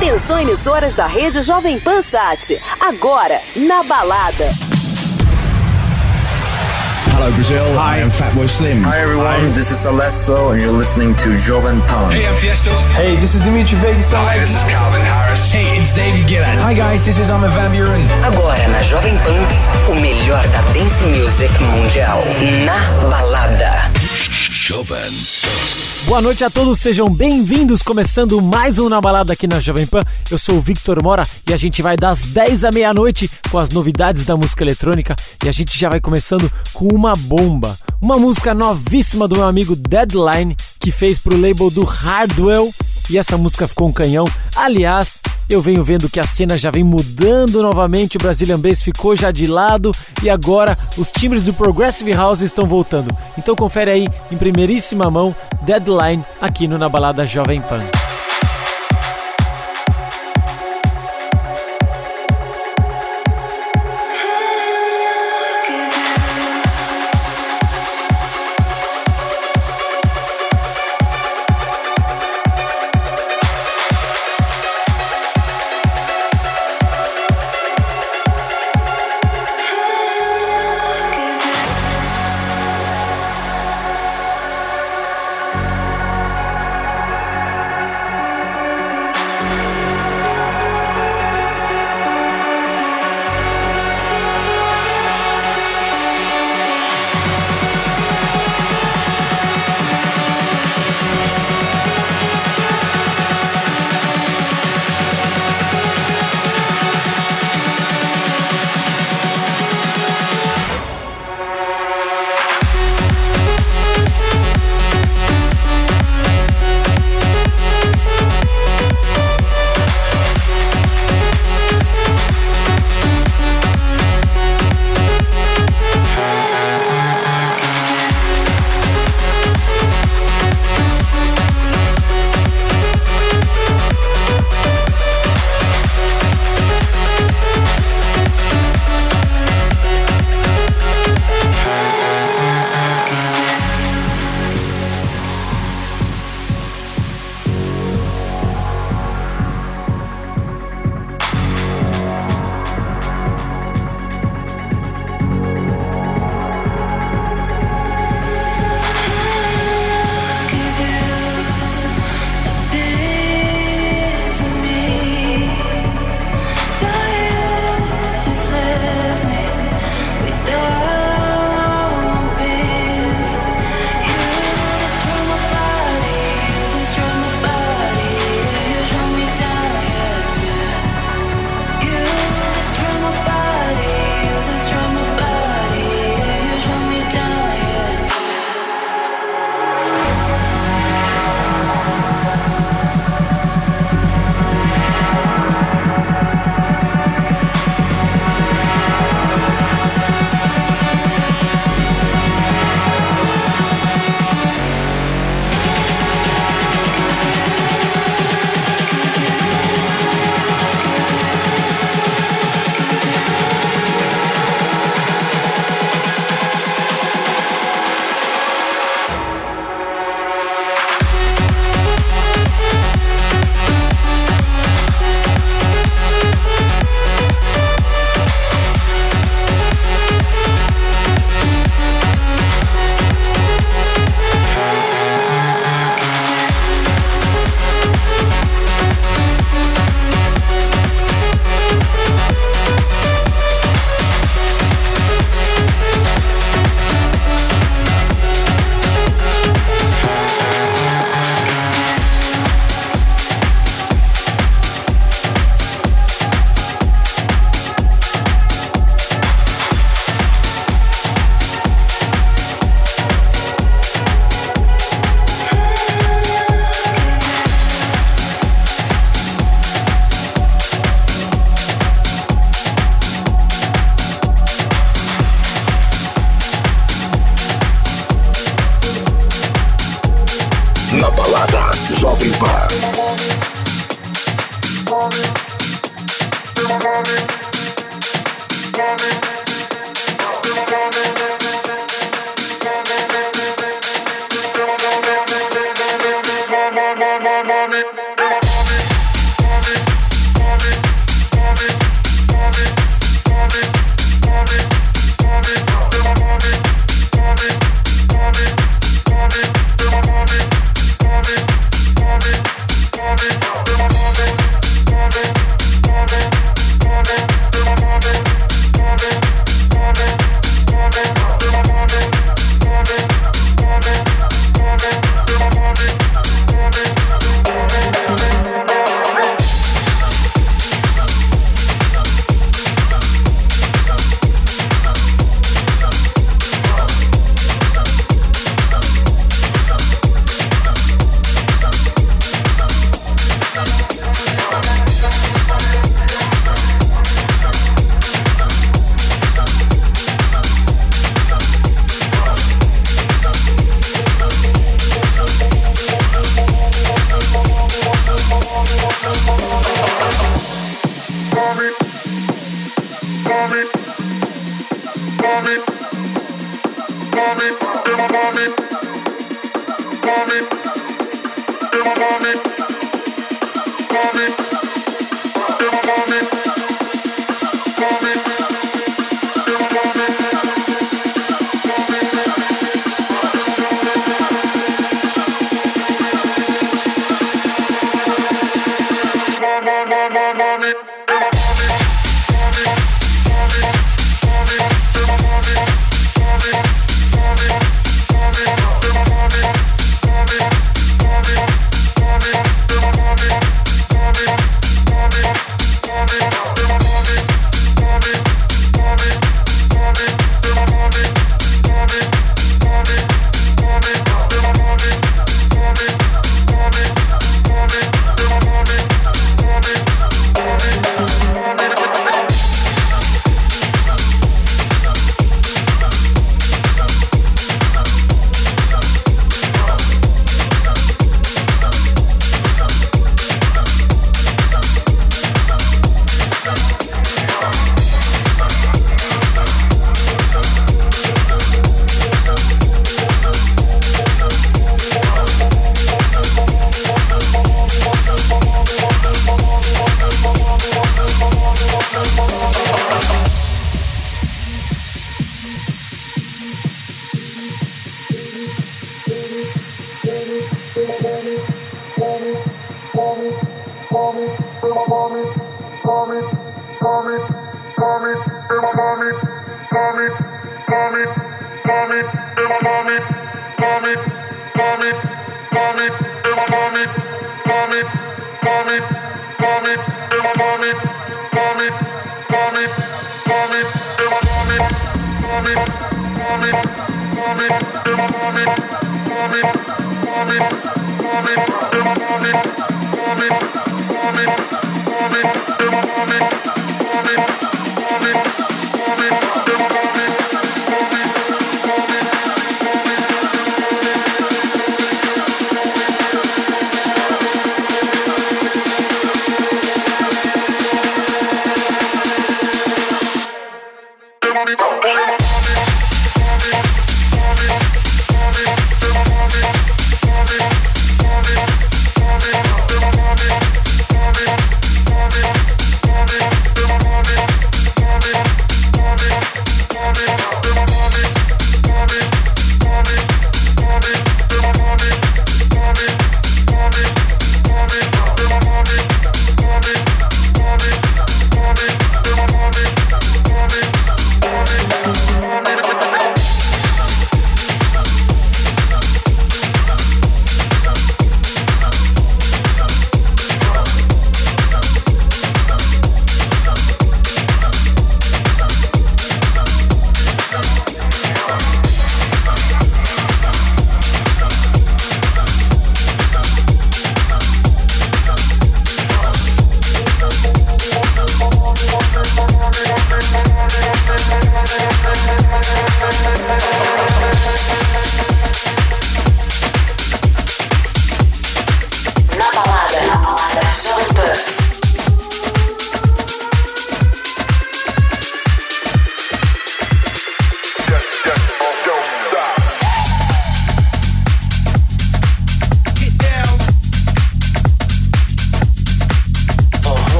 Atenção, emissoras da rede Jovem Pan Sat. Agora, na balada. Hello Brazil, I am Fatboy Slim. Hi everyone, this is Alesso and you're listening to Jovem Pan. Hey, I'm Tiesto. Hey, this is Dimitri Vegas. Hi, this is Calvin Harris. Hey, it's David Guetta. Hi guys, this is Armin van Buuren. Agora na Jovem Pan, o melhor da dance music mundial. Na balada. Jovem. Boa noite a todos, sejam bem-vindos, começando mais um Na Balada aqui na Jovem Pan. Eu sou o Victor Mora e a gente vai das 10 à meia-noite com as novidades da música eletrônica e a gente já vai começando com uma bomba. Uma música novíssima do meu amigo Deadline, que fez pro label do Hardwell, e essa música ficou um canhão. Aliás, eu venho vendo que a cena já vem mudando novamente, o Brazilian Bass ficou já de lado e agora os timbres do Progressive House estão voltando. Então confere aí em primeiríssima mão Deadline aqui no Na Balada Jovem Pan. Na Balada Jovem Pan.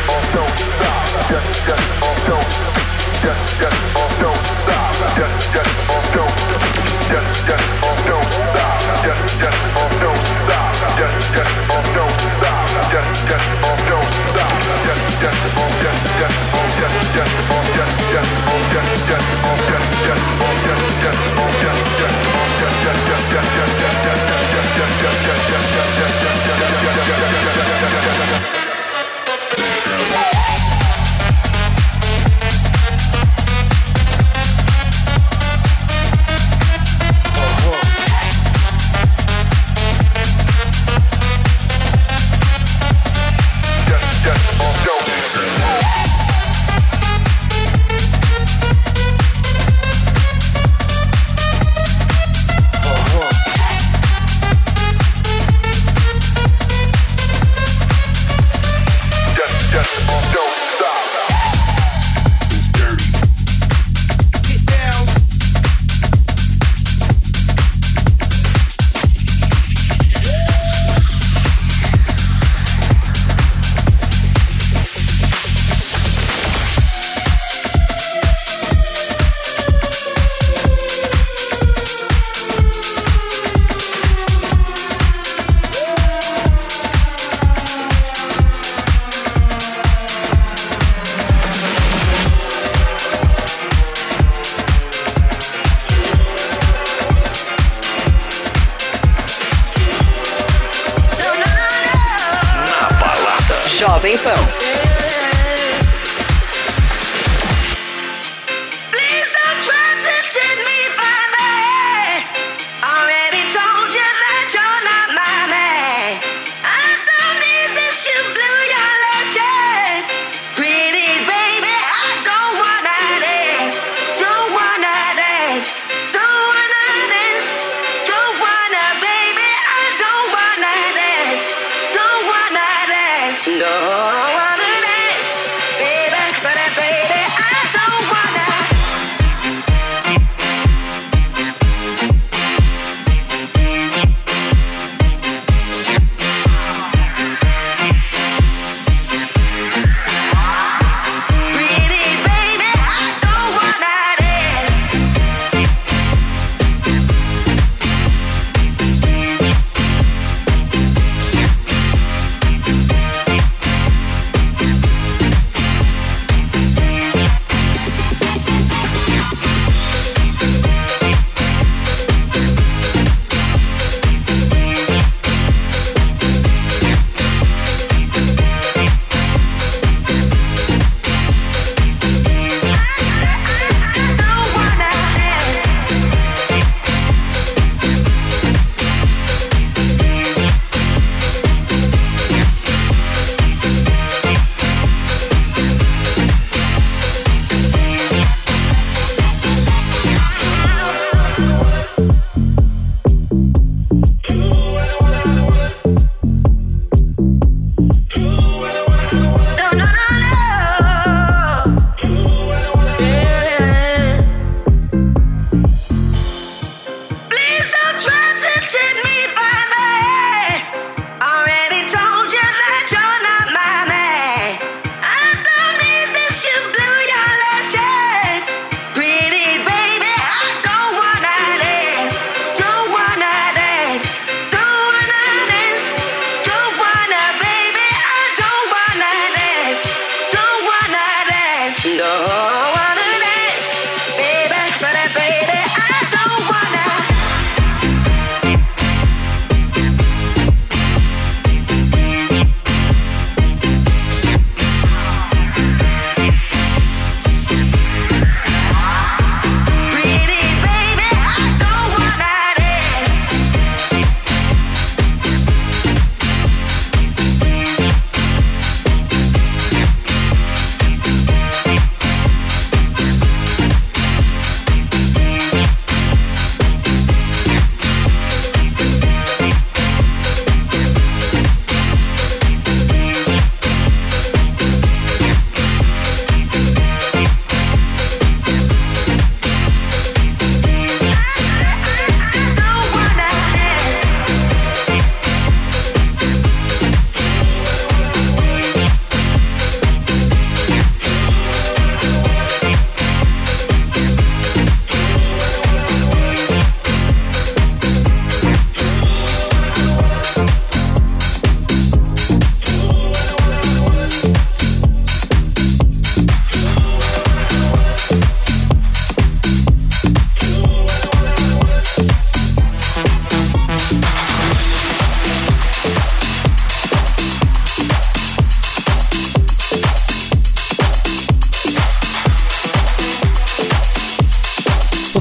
Jovem Pan.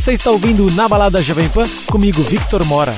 Você está ouvindo Na Balada Jovem Pan, comigo, Victor Mora.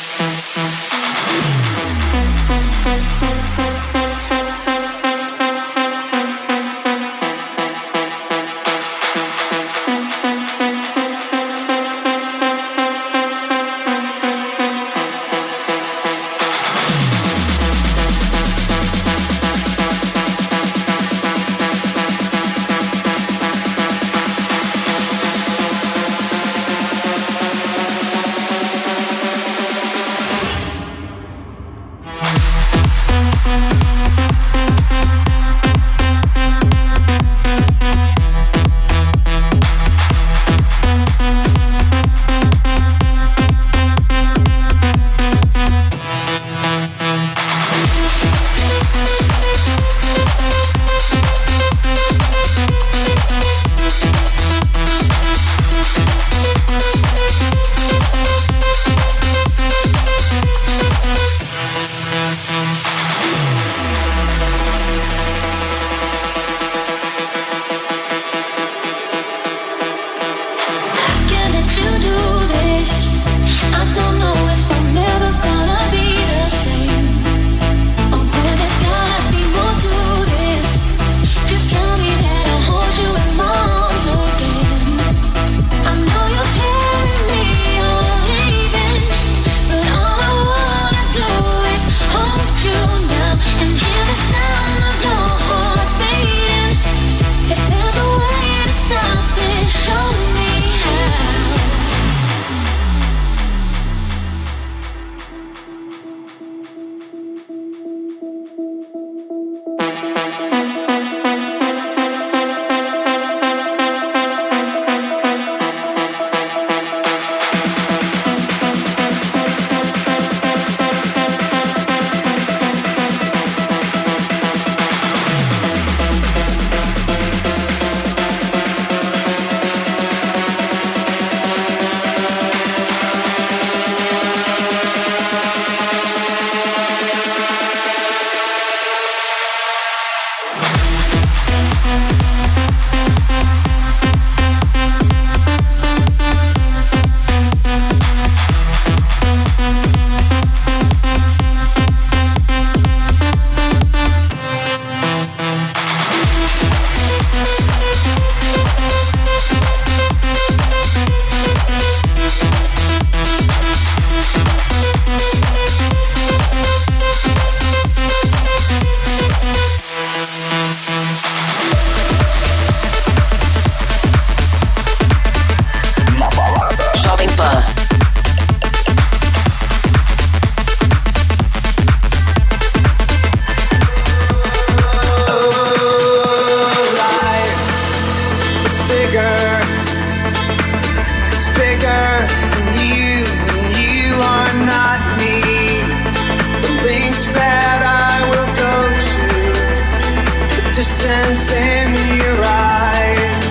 distance in your eyes.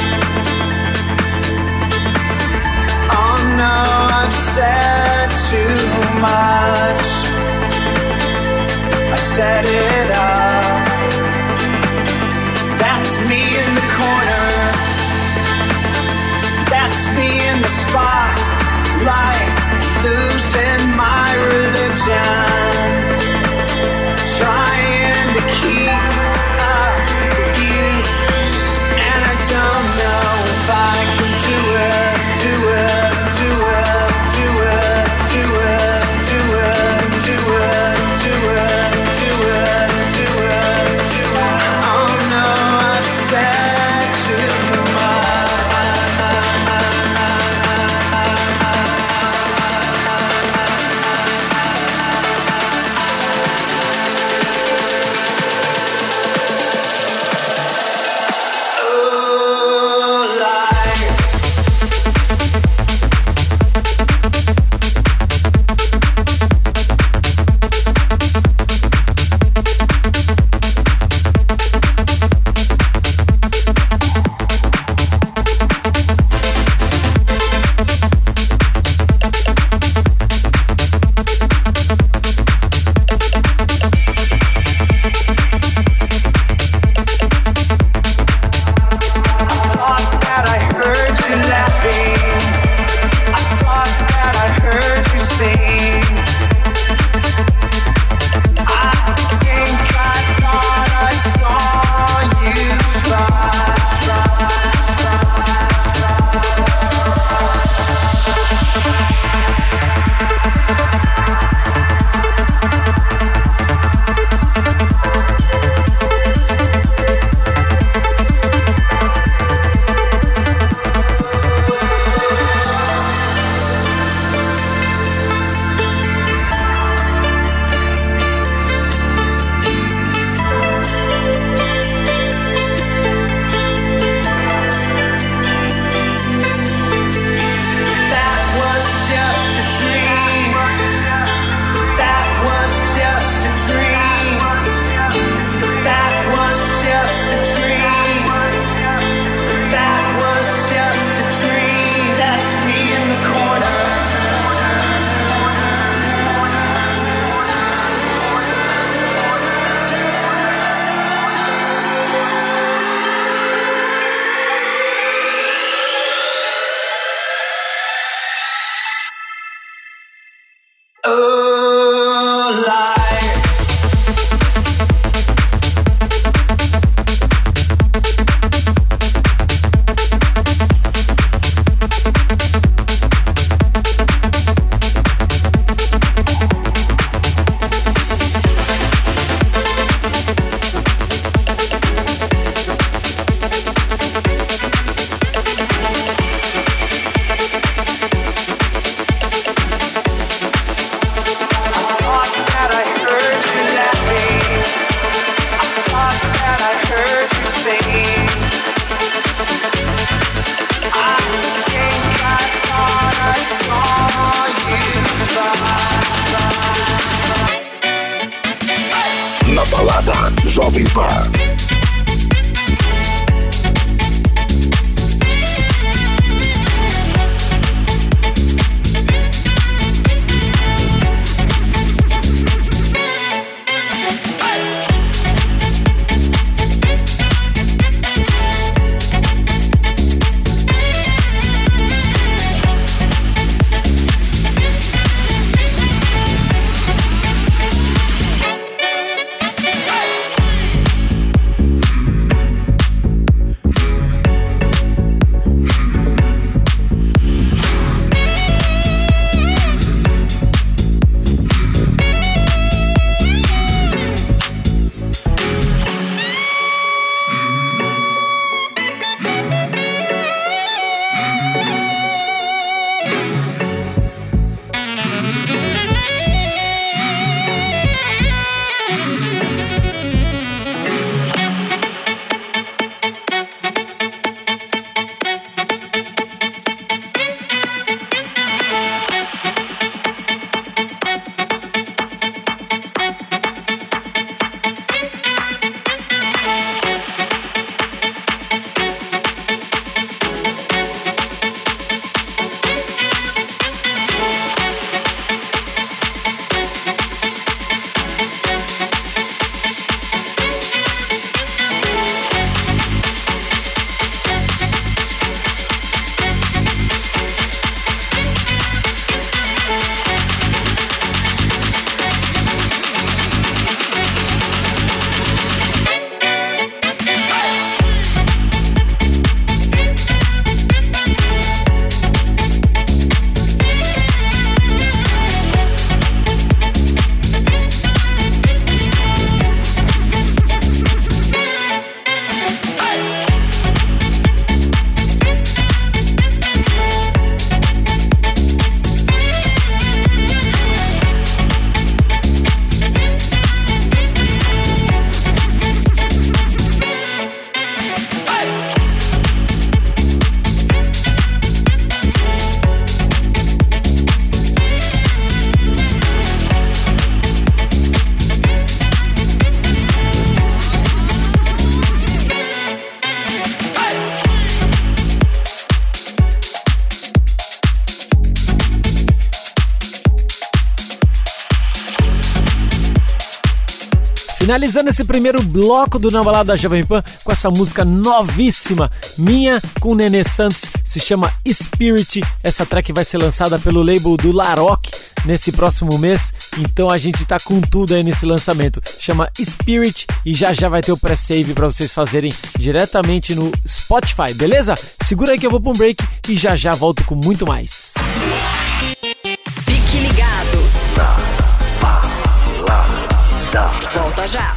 Oh no, I've said too much. I set it up. That's me in the corner. That's me in the spotlight, losing my religion, trying to keep up with you, and I don't know if I can do it, do it, do it, do it, do it, do it, do it, do it, do it, do it, do it. Oh no, I said too much. Na balada Jovem Pan. Finalizando esse primeiro bloco do Na Balada Jovem Pan com essa música novíssima, minha com Nenê Santos, se chama Spirit. Essa track vai ser lançada pelo label do Laroque nesse próximo mês, então a gente tá com tudo aí nesse lançamento. Chama Spirit e já vai ter o pré-save pra vocês fazerem diretamente no Spotify, beleza? Segura aí que eu vou pra um break e já volto com muito mais. Fique ligado. Volta já.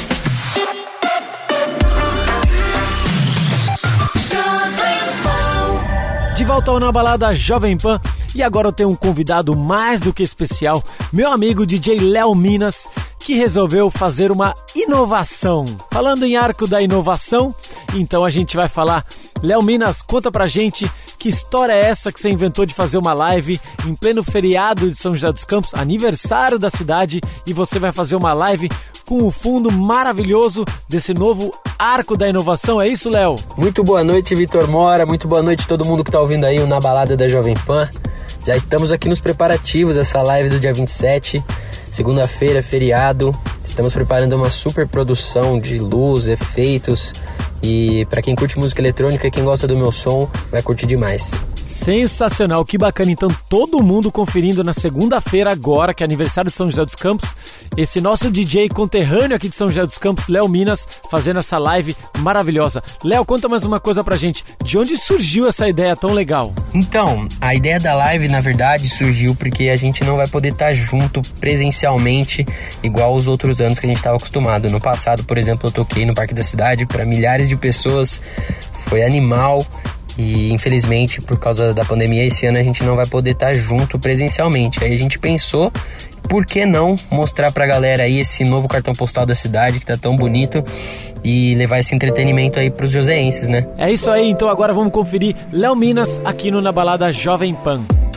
De volta ao Na Balada Jovem Pan, e agora eu tenho um convidado mais do que especial, meu amigo DJ Léo Minas, que resolveu fazer uma inovação. Falando em arco da inovação, então a gente vai falar. Léo Minas, conta pra gente que história é essa que você inventou de fazer uma live em pleno feriado de São José dos Campos, aniversário da cidade, e você vai fazer uma live com o fundo maravilhoso desse novo arco da inovação, é isso, Léo? Muito boa noite, Vitor Mora, muito boa noite a todo mundo que tá ouvindo aí o Na Balada da Jovem Pan. Já estamos aqui nos preparativos dessa live do dia 27, segunda-feira, feriado. Estamos preparando uma super produção de luz, efeitos, e para quem curte música eletrônica e quem gosta do meu som, vai curtir demais. Sensacional, que bacana. Então todo mundo conferindo na segunda-feira agora, que é aniversário de São José dos Campos, esse nosso DJ conterrâneo aqui de São José dos Campos, Léo Minas, fazendo essa live maravilhosa. Léo, conta mais uma coisa pra gente, de onde surgiu essa ideia tão legal? Então, a ideia da live, na verdade, surgiu porque a gente não vai poder estar junto presencialmente igual os outros anos que a gente estava acostumado. No passado, por exemplo, eu toquei no Parque da Cidade para milhares de pessoas, foi animal. E infelizmente, por causa da pandemia, esse ano a gente não vai poder estar junto presencialmente. Aí a gente pensou, por que não mostrar pra galera aí esse novo cartão postal da cidade que tá tão bonito e levar esse entretenimento aí pros joseenses, né? É isso aí, então agora vamos conferir Léo Minas aqui no Na Balada Jovem Pan.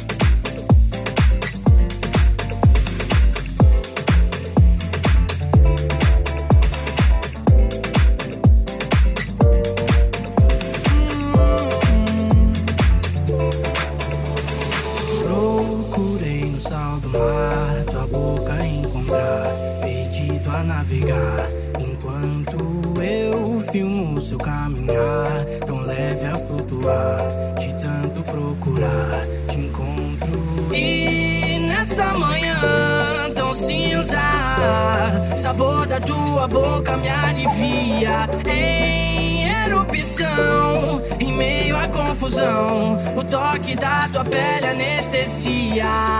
Enquanto eu filmo seu caminhar, tão leve a flutuar, de tanto procurar, te encontro. E nessa manhã tão cinza, sabor da tua boca me alivia. Em erupção, em meio à confusão, o toque da tua pele anestesia.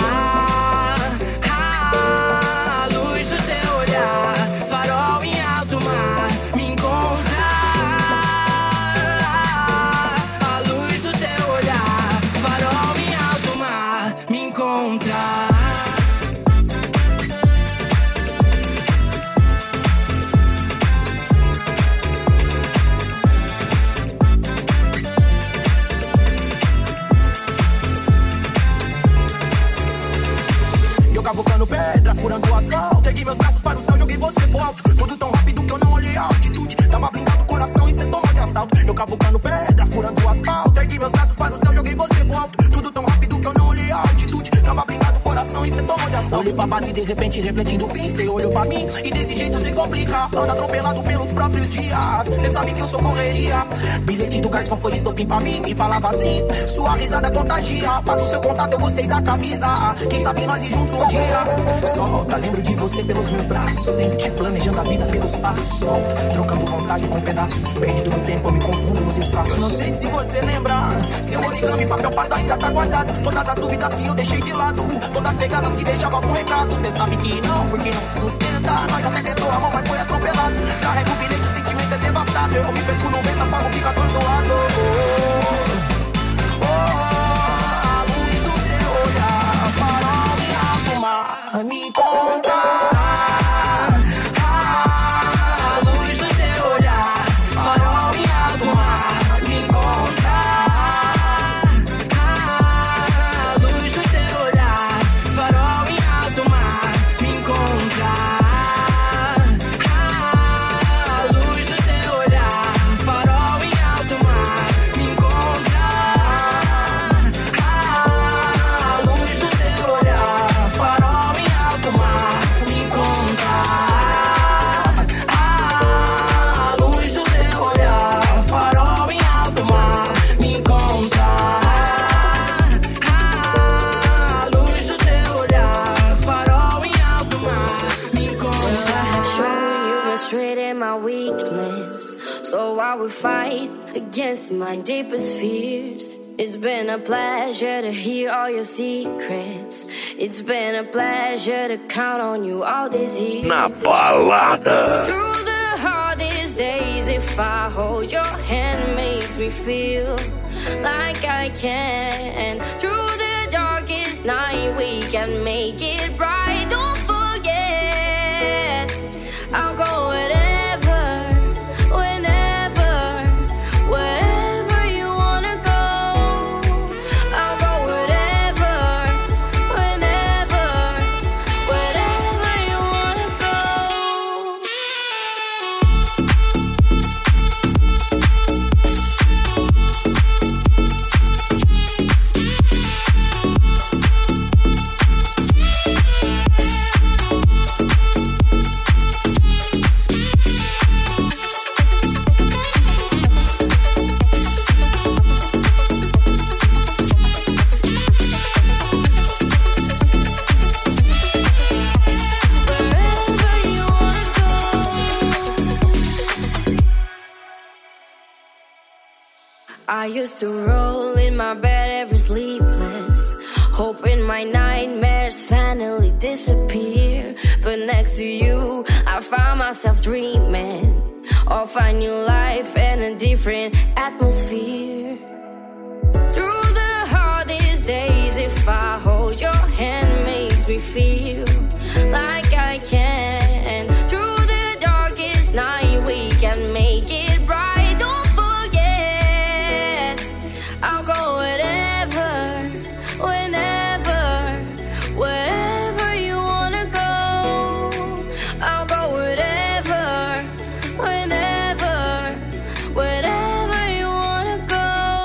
A luz do teu olhar, farol em alto mar, me encontra. A luz do teu olhar, farol em alto mar, me encontra. Cavucando pedra, furando o asfalto. Ergui meus braços para o céu, joguei você pro alto. Tudo tão rápido que eu não olhei a altitude. Tava blindado o coração e cê tomou de assalto. Eu cavucando pedra, furando o asfalto. Ergui meus braços para o céu, joguei você pro alto. Tudo tão rápido que eu não olhei a altitude. Tava blindado o coração e cê tomou de assalto. Olhei pra base e de repente refletindo o fim. Cê olhou pra mim e desse jeito se complica. Anda atropelado pelos próprios dias. Cê sabe que eu sou correria. Bilhete do garçom foi estopim pra mim e falava assim: sua risada contagia. Passa o seu contato, eu gostei da camisa. Quem sabe nós ir junto um dia. Solta, lembro de você pelos meus braços, sempre planejando a vida pelos passos. Volta, trocando vontade com pedaços. Perdido no tempo, eu me confundo nos espaços. Não sei se você lembra, seu origami, papel pardo ainda tá guardado. Todas as dúvidas que eu deixei de lado, todas as pegadas que deixava com recado. Cê sabe que não, porque não se sustenta. Nós até tentou a mão, mas foi atropelado. Carrega o bilhete, o sentimento é devastado. Eu me perco no vento, afago, fica atordoado. A luz do teu olhar, farol em alto mar, me encontrar. A luz do teu olhar, farol em alto mar, me encontrar. A luz do teu olhar, farol em alto mar, me encontrar. A luz do teu olhar, farol em alto against my deepest fears. It's been a pleasure to hear all your secrets. It's been a pleasure to count on you all these years. Na balada. Through the hardest days, if I hold your hand, makes me feel like I can. Through the darkest night, we can make it right. Don't forget, I'll go wherever, whenever, wherever you wanna go. I'll go wherever, whenever, wherever you wanna go. I used to roll in my bed every sleepless, hoping my nightmares finally disappear. But next to you, I found myself dreaming of a new life and a different atmosphere. Through the hardest days, if I hold your hand, makes me feel like I can. Through the darkest night, we can make it right. Don't forget, I'll go wherever, whenever, wherever you wanna go. I'll go wherever, whenever, wherever you wanna go.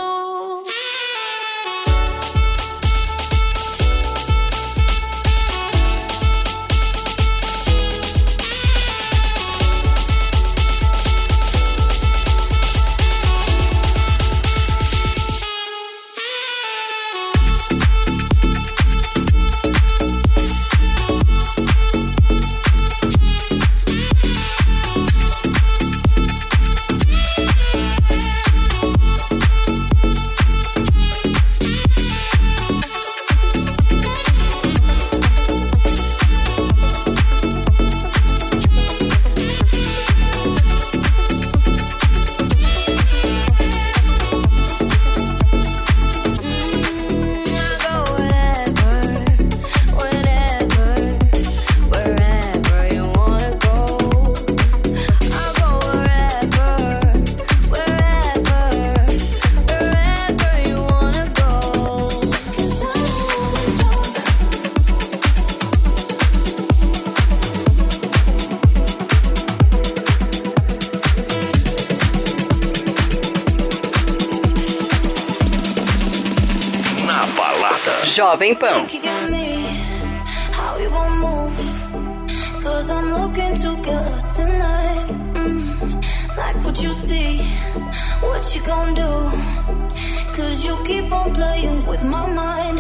Jovem Pan. How you gon' move? Cause I'm looking to get lost tonight. Like what you see, what you gon' do? Cause you keep on playing with my mind.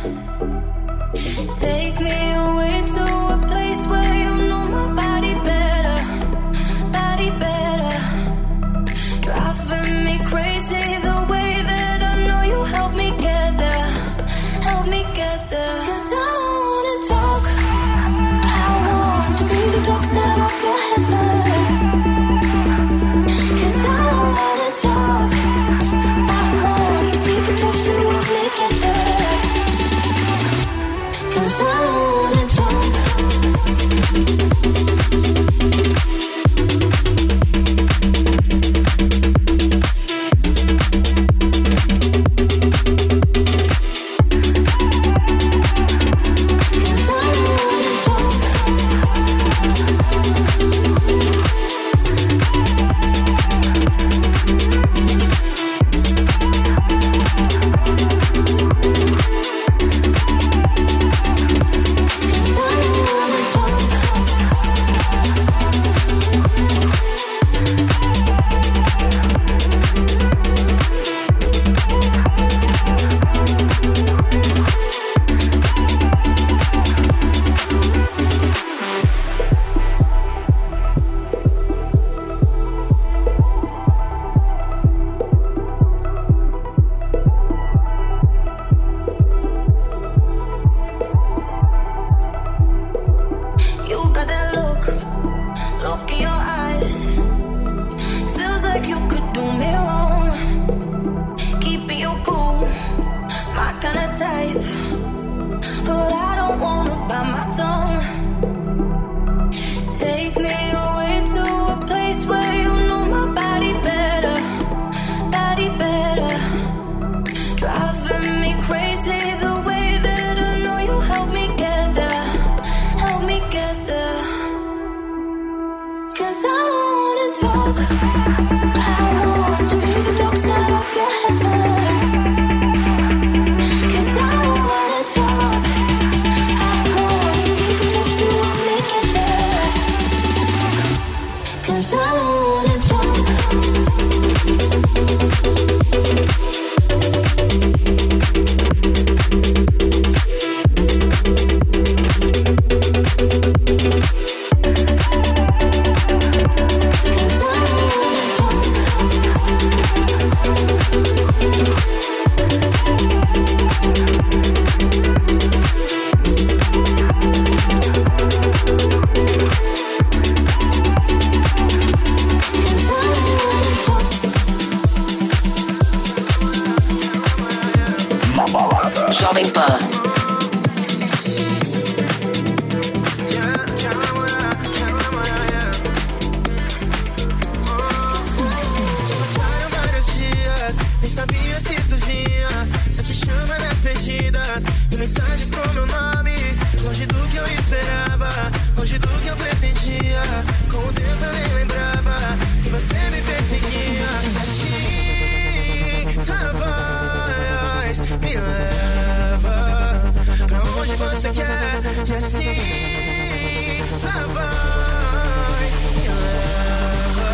Take me away to a place where you know my body better, body better. Driving me crazy the way that I know you help me get there, help me get there. Cause I don't wanna talk, I want to be the dark side of your heaven. Cause I don't wanna talk, I want you deep and close to help me get there. Jovem Pan. Nem sabia se tu vinha, só te chama nas perdidas e mensagens com meu nome, longe do que eu esperava, longe do que eu pretendia. Com o tempo eu nem lembrava e você me perseguia. Assim, tua voz me leva pra onde você quer. E assim, tua voz me leva.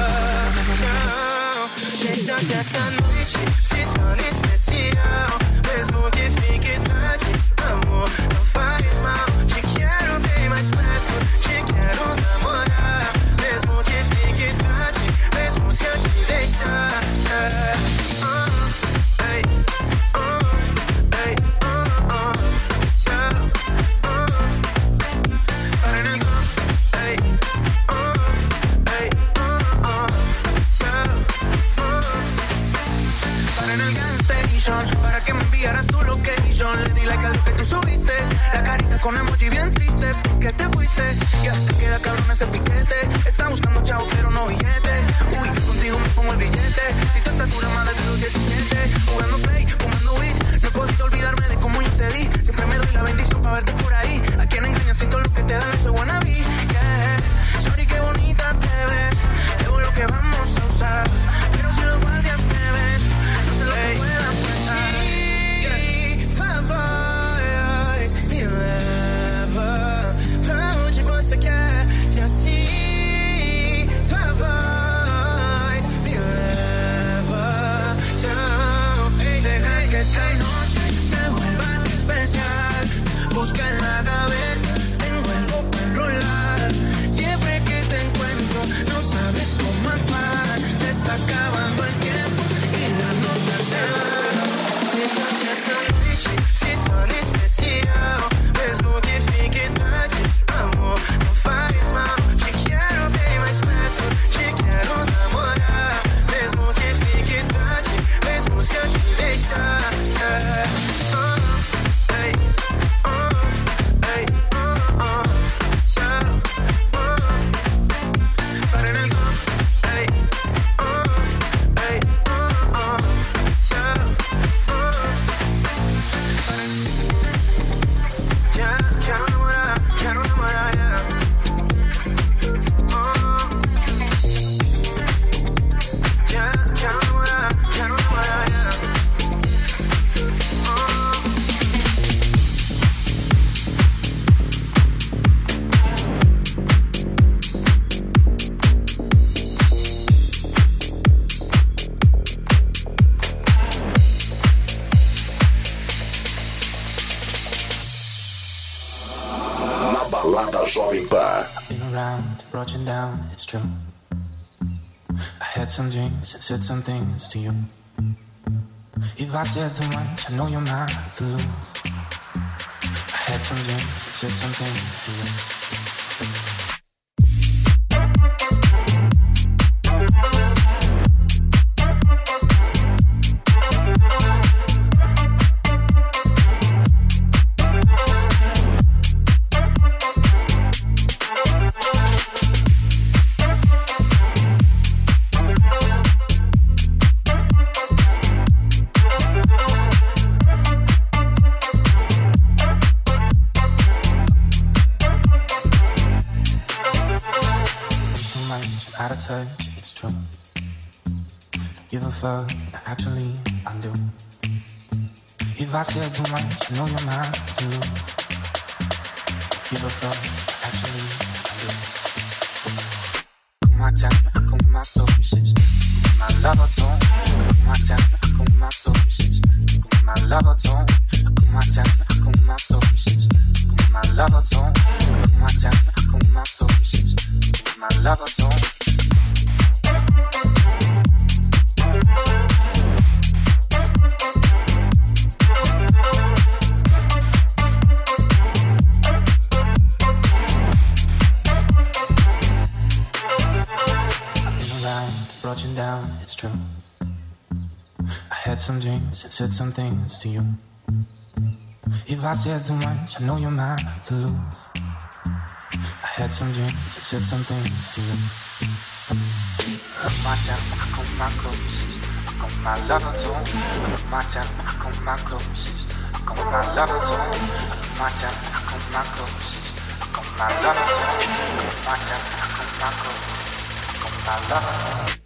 Deixa que essa noite se torne especial, mesmo que fique tarde, amor, não faz mal. Te quero bem mais perto, te quero namorar, mesmo que fique tarde, mesmo se eu te deixar. Yeah. Hey, hey, yeah. Para en el club, hey, hey, yeah. Para en el gas station, para que me enviaras tu location. Le di like a lo que tú subiste, la carita con emoji bien triste, porque te fuiste. Ya te queda cabrón ese piquete, está buscando chavo pero no billete. Uy, contigo me pongo el billete, si tu estatura más de los 17. Jugando play, fumando weed, no he podido olvidarme de cómo yo te di. Siempre me doy la bendición para verte por ahí. A quien engañas sin todo lo que te dan, no soy wannabe. Yeah, sorry qué bonita te ves, luego lo que vamos a usar, pero si los guardias me ven, no sé lo que puedan pensar. Voz me leva pra onde você quer. E assim, tua voz me leva. Deja que esta noche se vuelva especial. Busca en la cabeza, tengo algo para enrolar. Siempre que te encuentro, no sabes cómo actuar. Se está acabando el tiempo y la nota se va. Deja que esa noite se torne especial, mesmo que fique tarde, amor, não faz mal. Te quero bem mais perto, te quero namorar, mesmo que fique tarde, mesmo se eu te deixar. Yeah. Hey, hey, yeah. Para en el club, hey, hey, yeah. Quiero enamorar, yeah. Quiero enamorar, yeah. Na balada Jovem Pan. Been around, brought you down, it's true. I had some drinks and said some things to you. If I said too much, I know you're mine to lose. I had some drinks and said some things to you. Out of touch, it's true. Give a fuck, actually I do. If I said too much, I know you're mine to lose. Give a fuck, actually I do. Kuma time, akuma topisis. Kuma lava tone. Kuma time, akuma topisis. Kuma lava tone. Kuma time, akuma topisis. Kuma lava tone. Kuma time, akuma topisis. Kuma lava tone. Brought you down, it's true. I had some drinks and said some things to you. If I said too much, I know you're mine to lose. I had some dreams, I said some things to you. My time, I come my closest. I come my lover too. My time, I come my closest. I come my lover too. My time, I come my closest. I come my lover too. My time, I come my closest. I come my lover too.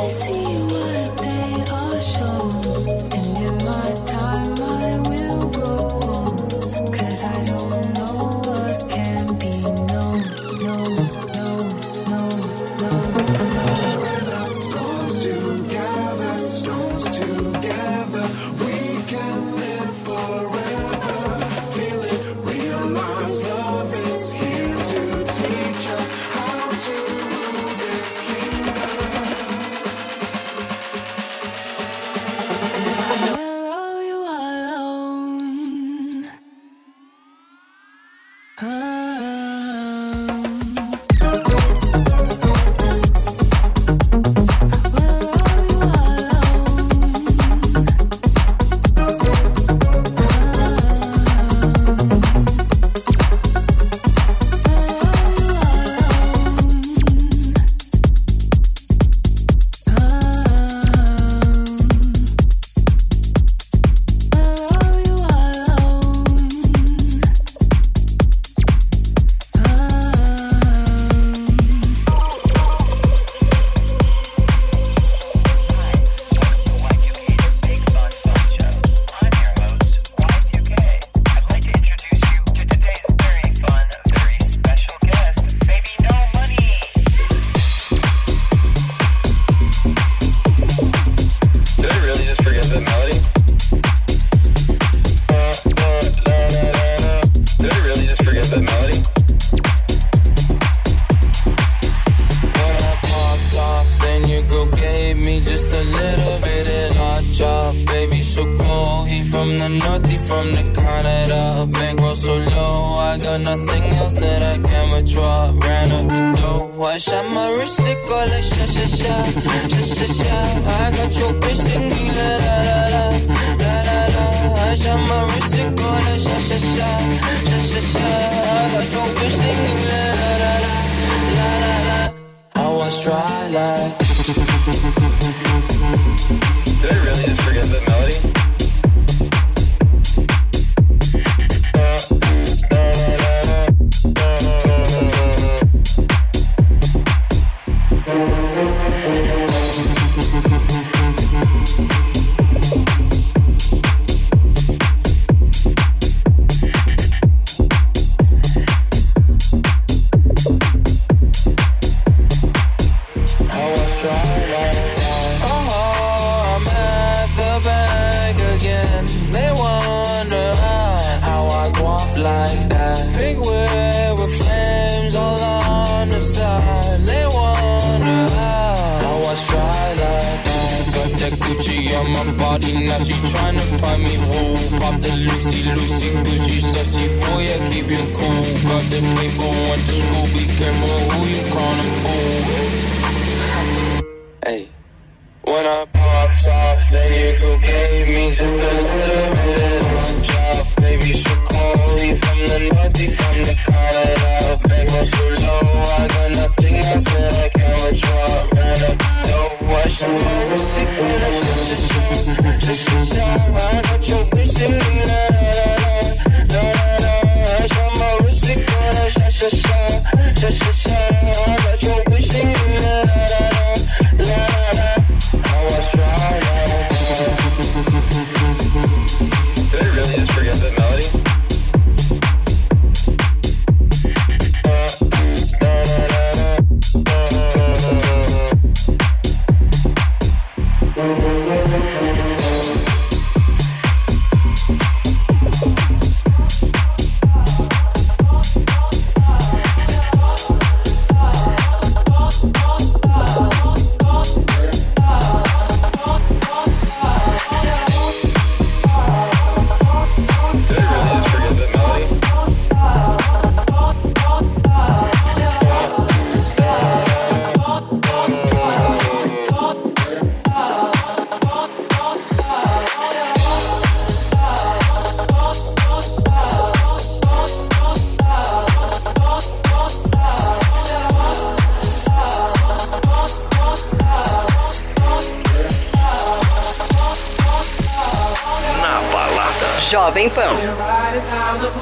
Jovem Pan. We're riding down the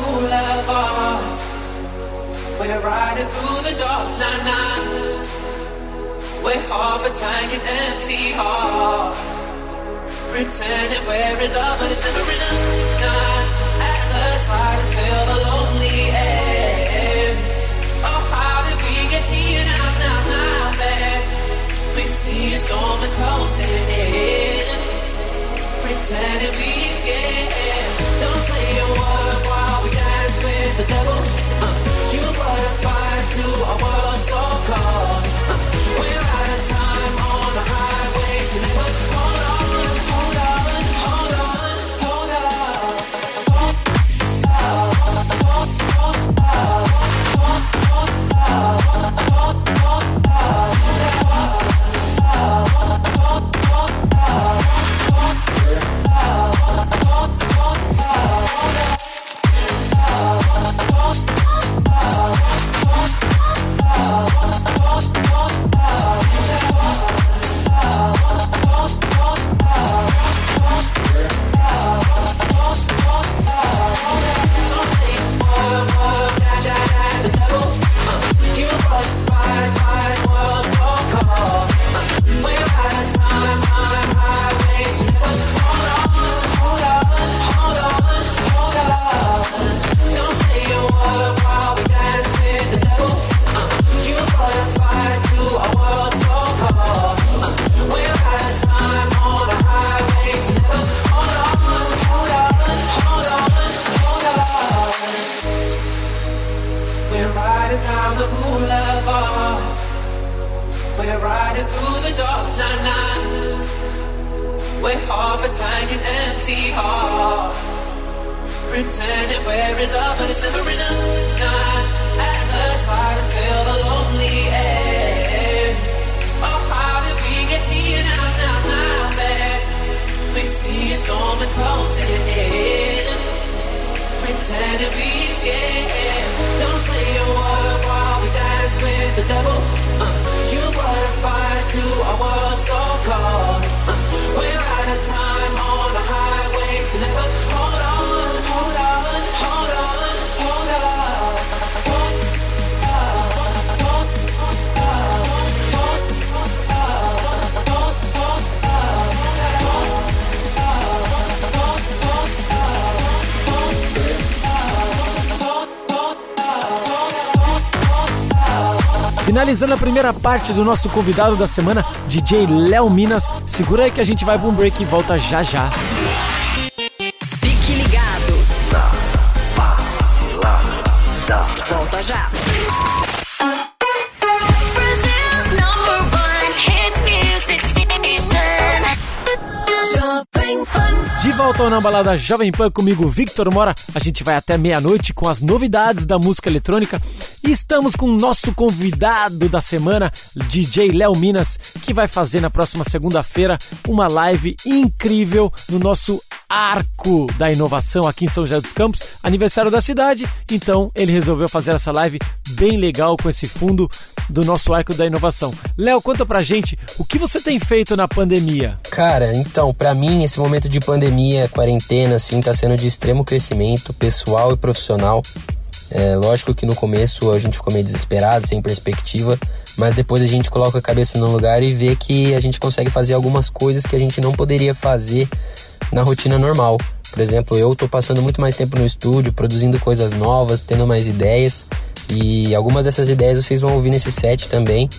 boulevard. We're riding through the dark night. We're half a tank and empty heart. Pretending we're in love, but it's never enough. Nah, as a slide until the lonely end. Oh, how did we get here now, babe? We see a storm is closing in. Pretending we scared. Don't say a word while we dance with the devil. You butterfly to a world so cold. We're out of time on the highway to never. Hold on, hold on, hold on, hold on. Finalizando a primeira parte do nosso convidado da semana, DJ Léo Minas. Segura aí que a gente vai para um break e volta já já. Fique ligado. Na balada. Volta já. De volta ao Na Balada Jovem Pan comigo, Victor Mora. A gente vai até meia-noite com as novidades da música eletrônica. E estamos com o nosso convidado da semana, DJ Léo Minas, que vai fazer na próxima segunda-feira uma live incrível no nosso Arco da Inovação aqui em São José dos Campos, aniversário da cidade. Então ele resolveu fazer essa live bem legal com esse fundo do nosso Arco da Inovação. Léo, conta pra gente o que você tem feito na pandemia. Cara, então, pra mim esse momento de pandemia, quarentena, assim, tá sendo de extremo crescimento pessoal e profissional. Lógico que no começo a gente ficou meio desesperado, sem perspectiva, mas depois a gente coloca a cabeça no lugar e vê que a gente consegue fazer algumas coisas que a gente não poderia fazer na rotina normal. Por exemplo, eu tô passando muito mais tempo no estúdio, produzindo coisas novas, tendo mais ideias, e algumas dessas ideias vocês vão ouvir nesse set também.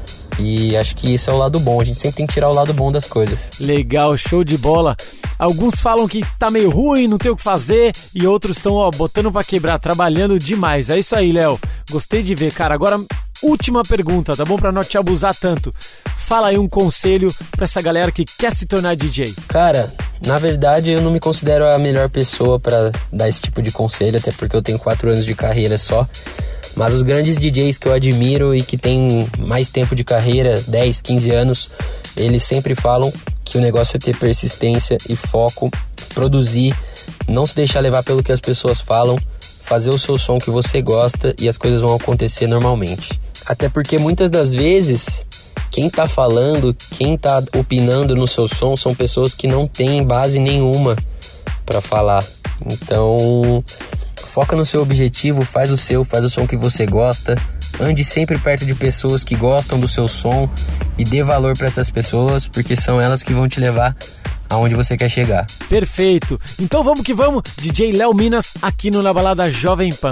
E acho que isso é o lado bom, a gente sempre tem que tirar o lado bom das coisas. Legal, show de bola. Alguns falam que tá meio ruim, não tem o que fazer, e outros estão botando pra quebrar, trabalhando demais. É isso aí, Léo, gostei de ver, cara. Agora, última pergunta, tá bom? Pra não te abusar tanto. Fala aí um conselho pra essa galera que quer se tornar DJ. Cara, na verdade eu não me considero a melhor pessoa pra dar esse tipo de conselho, até porque eu tenho 4 anos de carreira só. Mas os grandes DJs que eu admiro e que têm mais tempo de carreira, 10, 15 anos, eles sempre falam que o negócio é ter persistência e foco, produzir, não se deixar levar pelo que as pessoas falam, fazer o seu som que você gosta e as coisas vão acontecer normalmente. Até porque muitas das vezes, quem tá falando, quem tá opinando no seu som são pessoas que não têm base nenhuma pra falar. Então, foca no seu objetivo, faz o som que você gosta, ande sempre perto de pessoas que gostam do seu som e dê valor para essas pessoas, porque são elas que vão te levar aonde você quer chegar. Perfeito. Então vamos que vamos, DJ Léo Minas aqui no Na Balada Jovem Pan.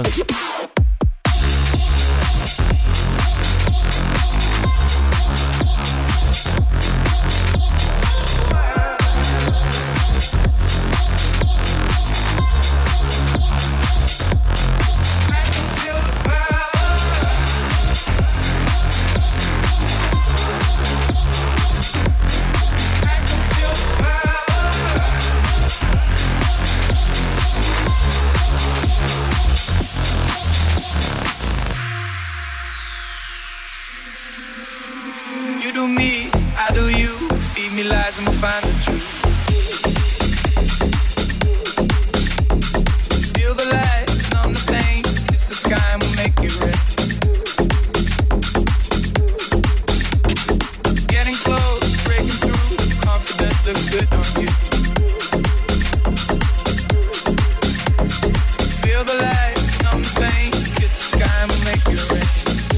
I'ma find the truth. Feel the light, numb the pain, kiss the sky and we'll make it red. Getting close, breaking through, confidence looks good on you. Feel the light, numb the pain, kiss the sky and we'll make it red.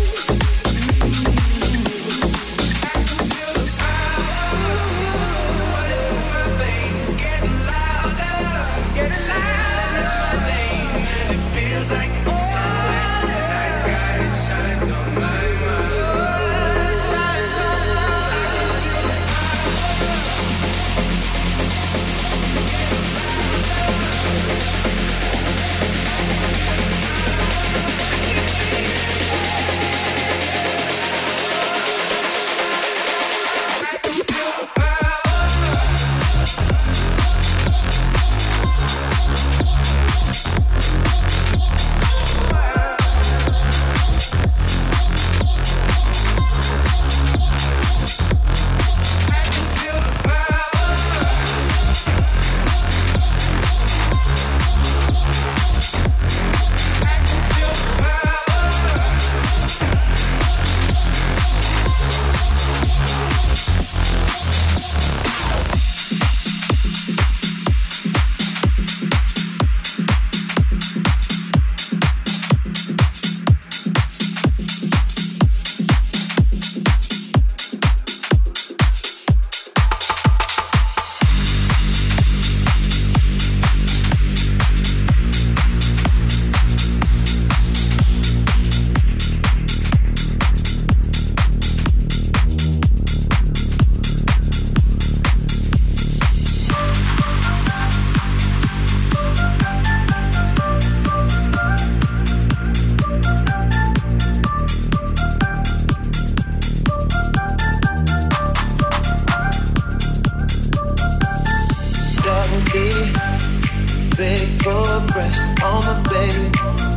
Big for breast on my baby.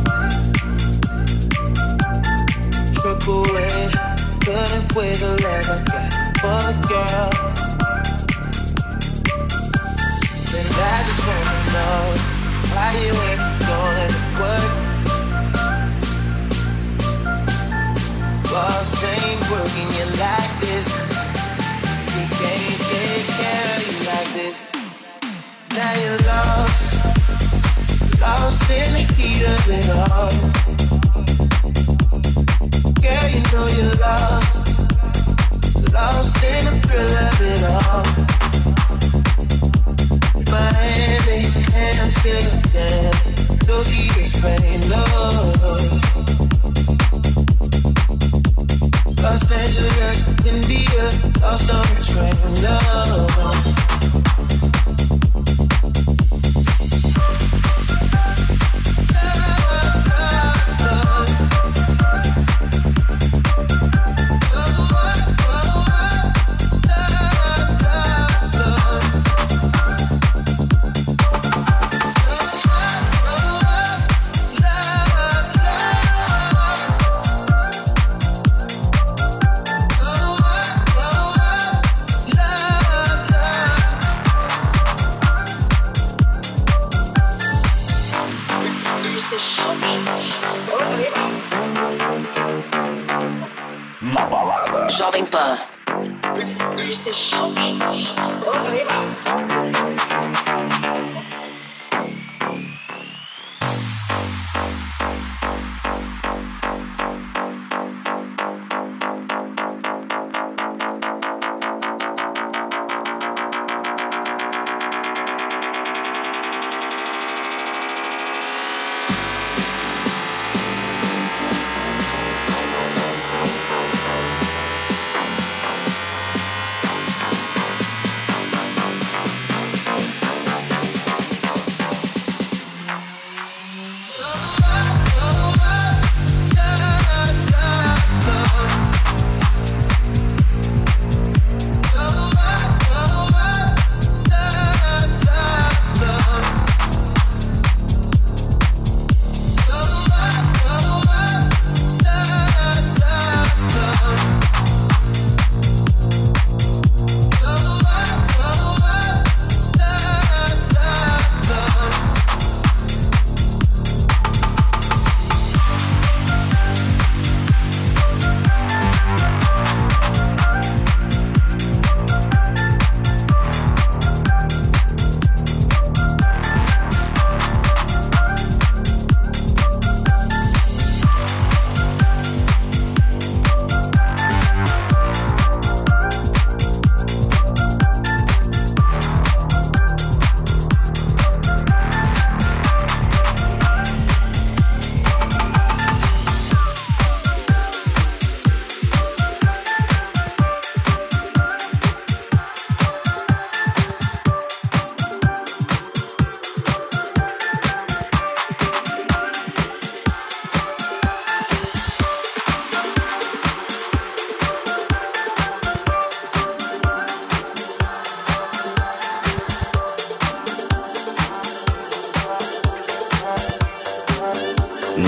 Triple A, couldn't with the love I got for the girl. And I just wanna know why you ain't going to work. Boss ain't working you like this. We can't take care of you like this. Now you're lost in the heat of it all. Girl, you know you're lost in the thrill of it all. Miami, Amsterdam, Tokyo, Spain, Los Angeles, India, lost on the train, lost.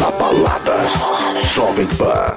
Na balada Jovem Pan.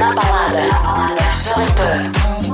Na balada Jovem Pan.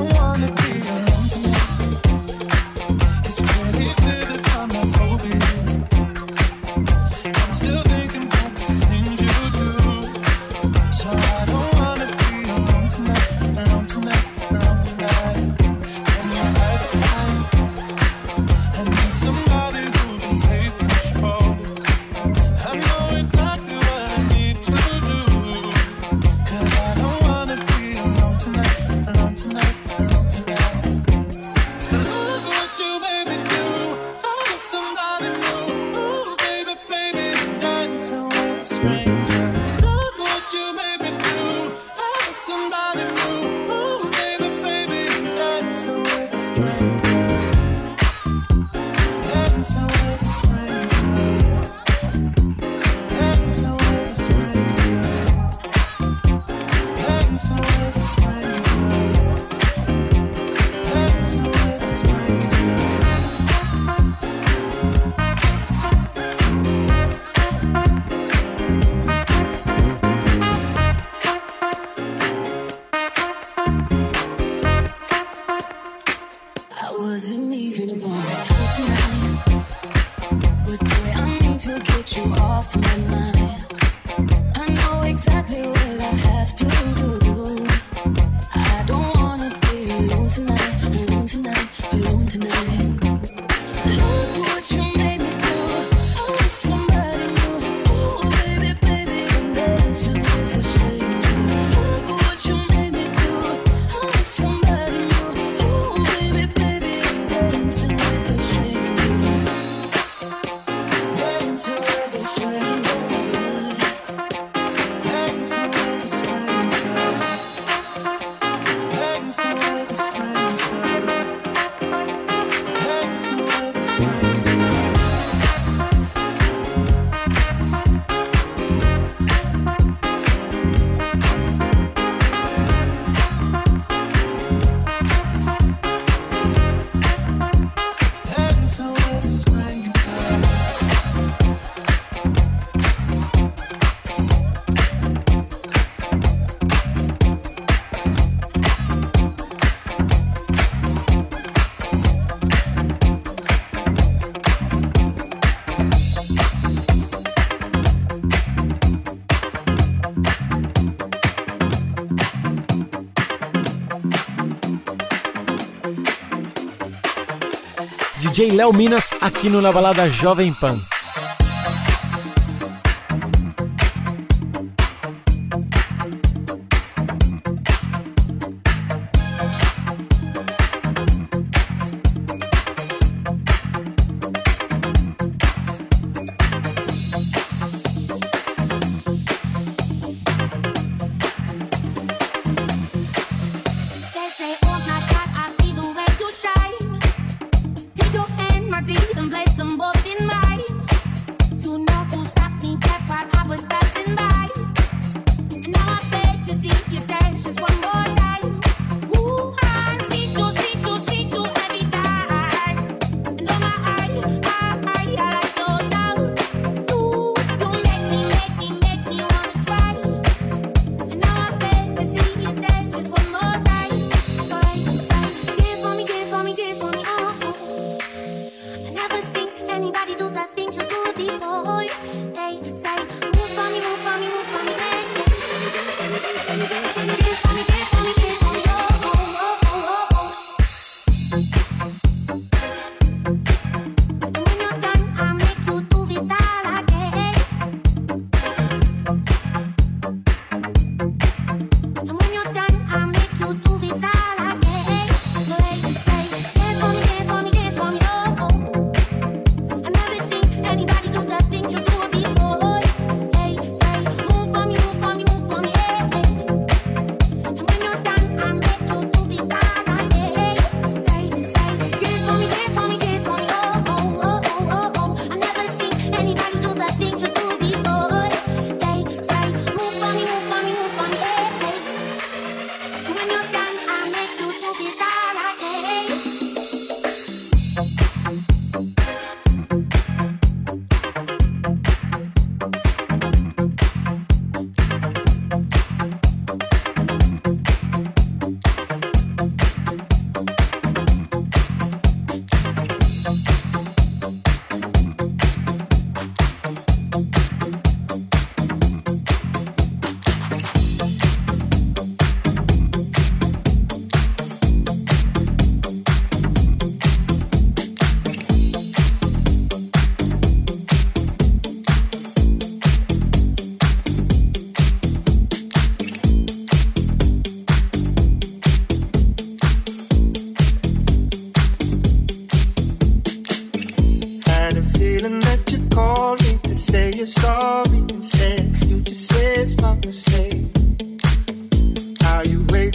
DJ Léo Minas aqui no Na Balada Jovem Pan. And place them both in mine.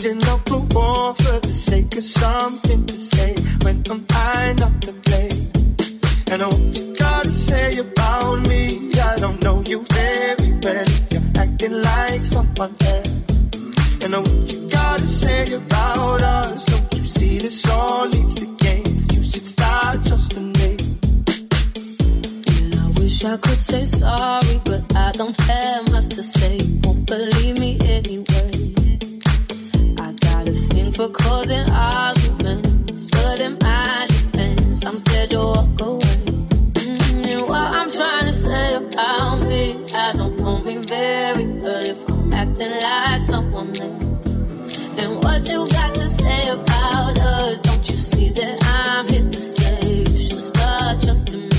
waging up a war for the sake of something to say? When am I not to blame? And I what you gotta say about me? I don't know you very well. You're acting like someone else. And I what you gotta say about us? Don't you see this all leads to games? You should start trusting me. And I wish I could say sorry, but I don't have much to say. You won't believe me anyway. I got a thing for causing arguments, but in my defense, I'm scared you'll walk away. And what I'm trying to say about me, I don't know me very well if I'm acting like someone else. And what you got to say about us? Don't you see that I'm here to say you should start trusting me?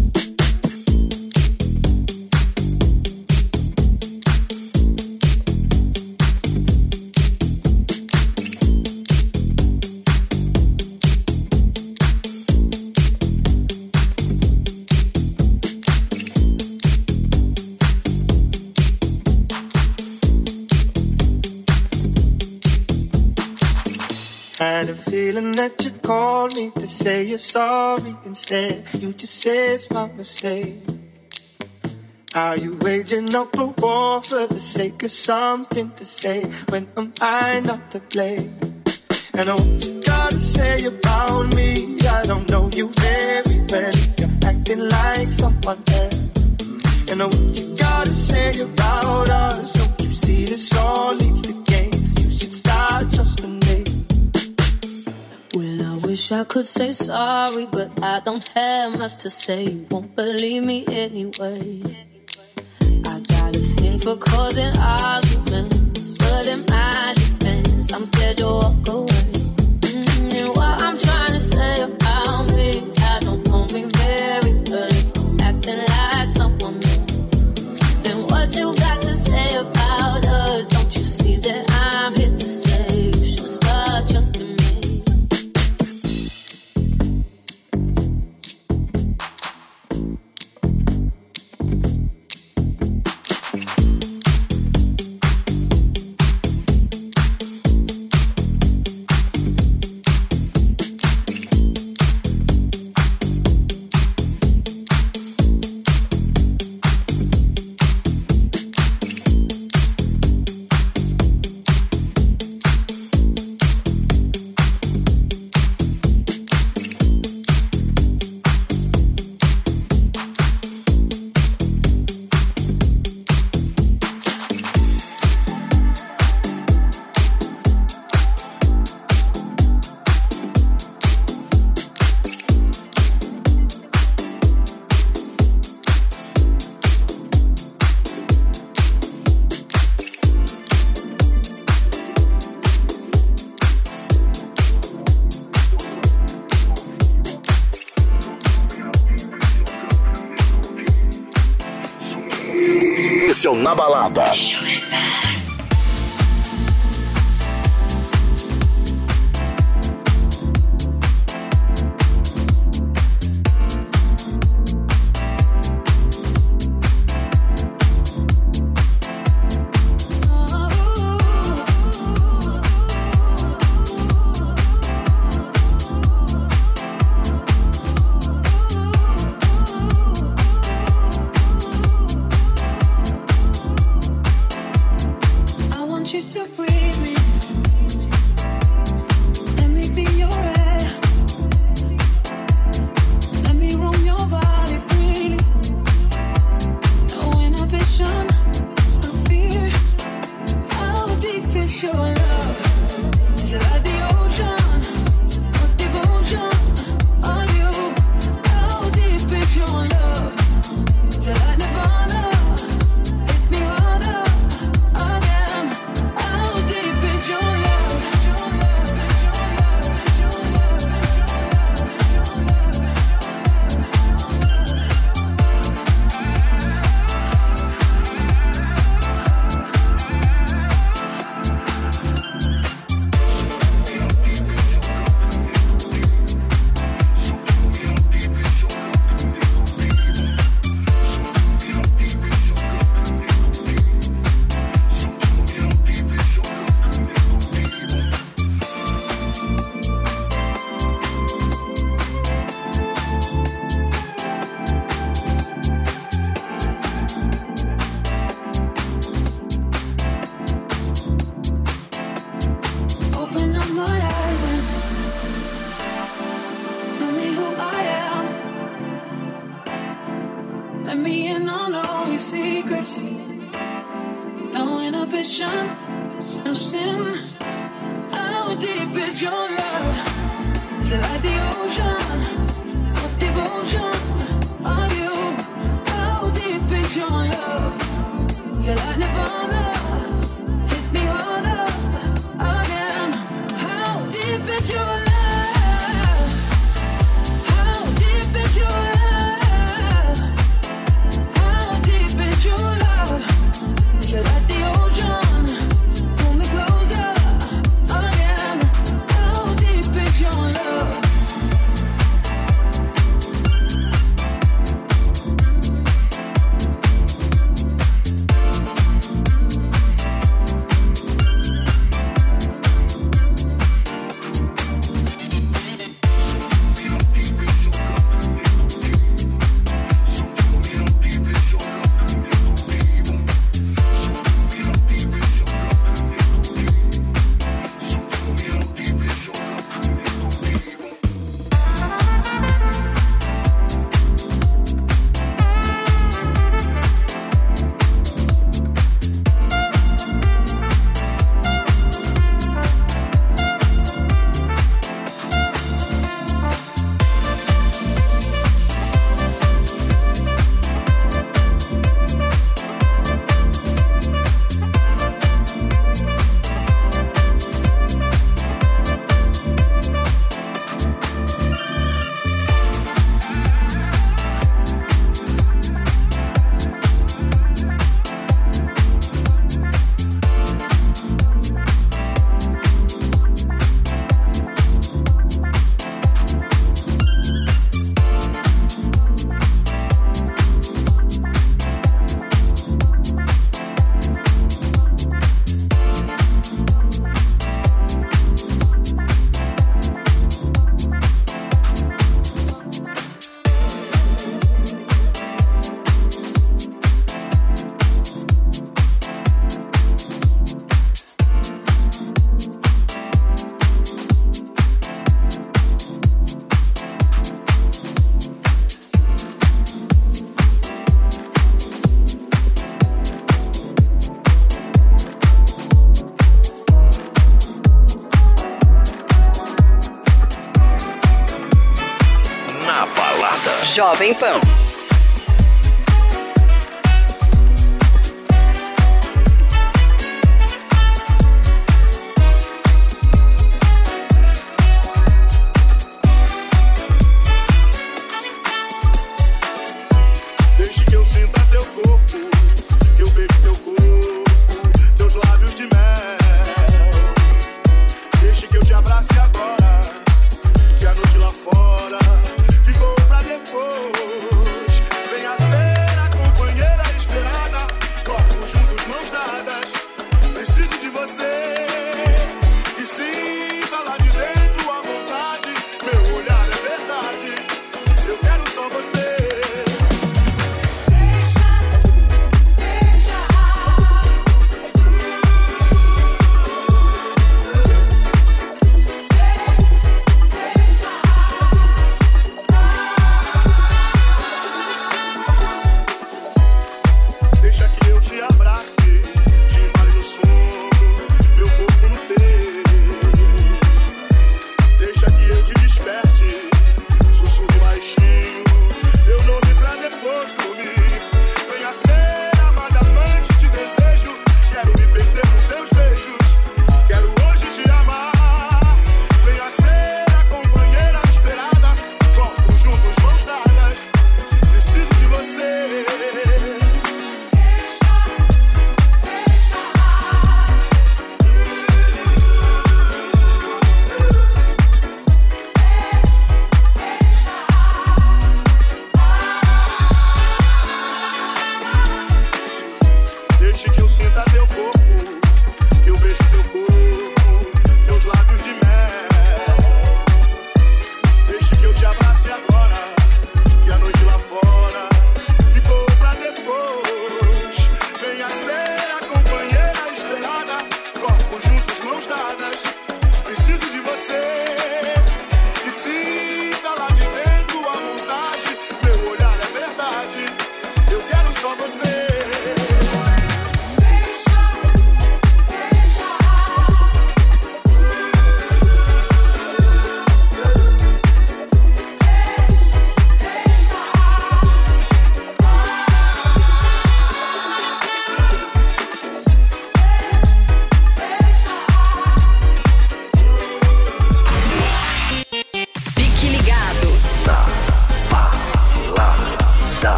Had a feeling that you called me to say you're sorry. Instead, you just said it's my mistake. Are you waging up a war for the sake of something to say? When am I not to blame? And I what you gotta say about me? I don't know you very well. You're acting like someone else. And I what you gotta say about us? Don't you see this all leads to games? You should start trusting me. Well, I wish I could say sorry, but I don't have much to say. You won't believe me anyway. I got a thing for causing arguments, but in my defense, I'm scared you'll walk away. And what I'm trying to say about me, I don't know me very well if I'm acting like someone else. And what you got to say about us? Don't you see that I'm here to say you should start trusting me? Esse é o Na Balada. no sin. How deep is your love? Is it like the ocean? What devotion are you? How deep is your love? Is it like Nirvana? Hit me harder again. How deep is your love? How deep is your love? How deep is your love? Is it like the ocean? Pull me closer again. How deep is your love? Jovem Pan. Deixe que eu sinta teu corpo, que eu beijo teu corpo, teus lábios de mel. Deixe que eu te abrace agora, que a noite lá fora ficou pra depois.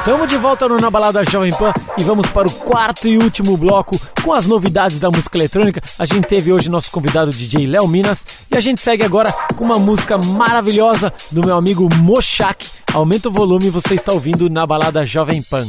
Estamos de volta no Na Balada Jovem Pan e vamos para o quarto e último bloco com as novidades da música eletrônica. A gente teve hoje nosso convidado DJ Léo Minas e a gente segue agora com uma música maravilhosa do meu amigo Mochak. Aumenta o volume, você está ouvindo Na Balada Jovem Pan.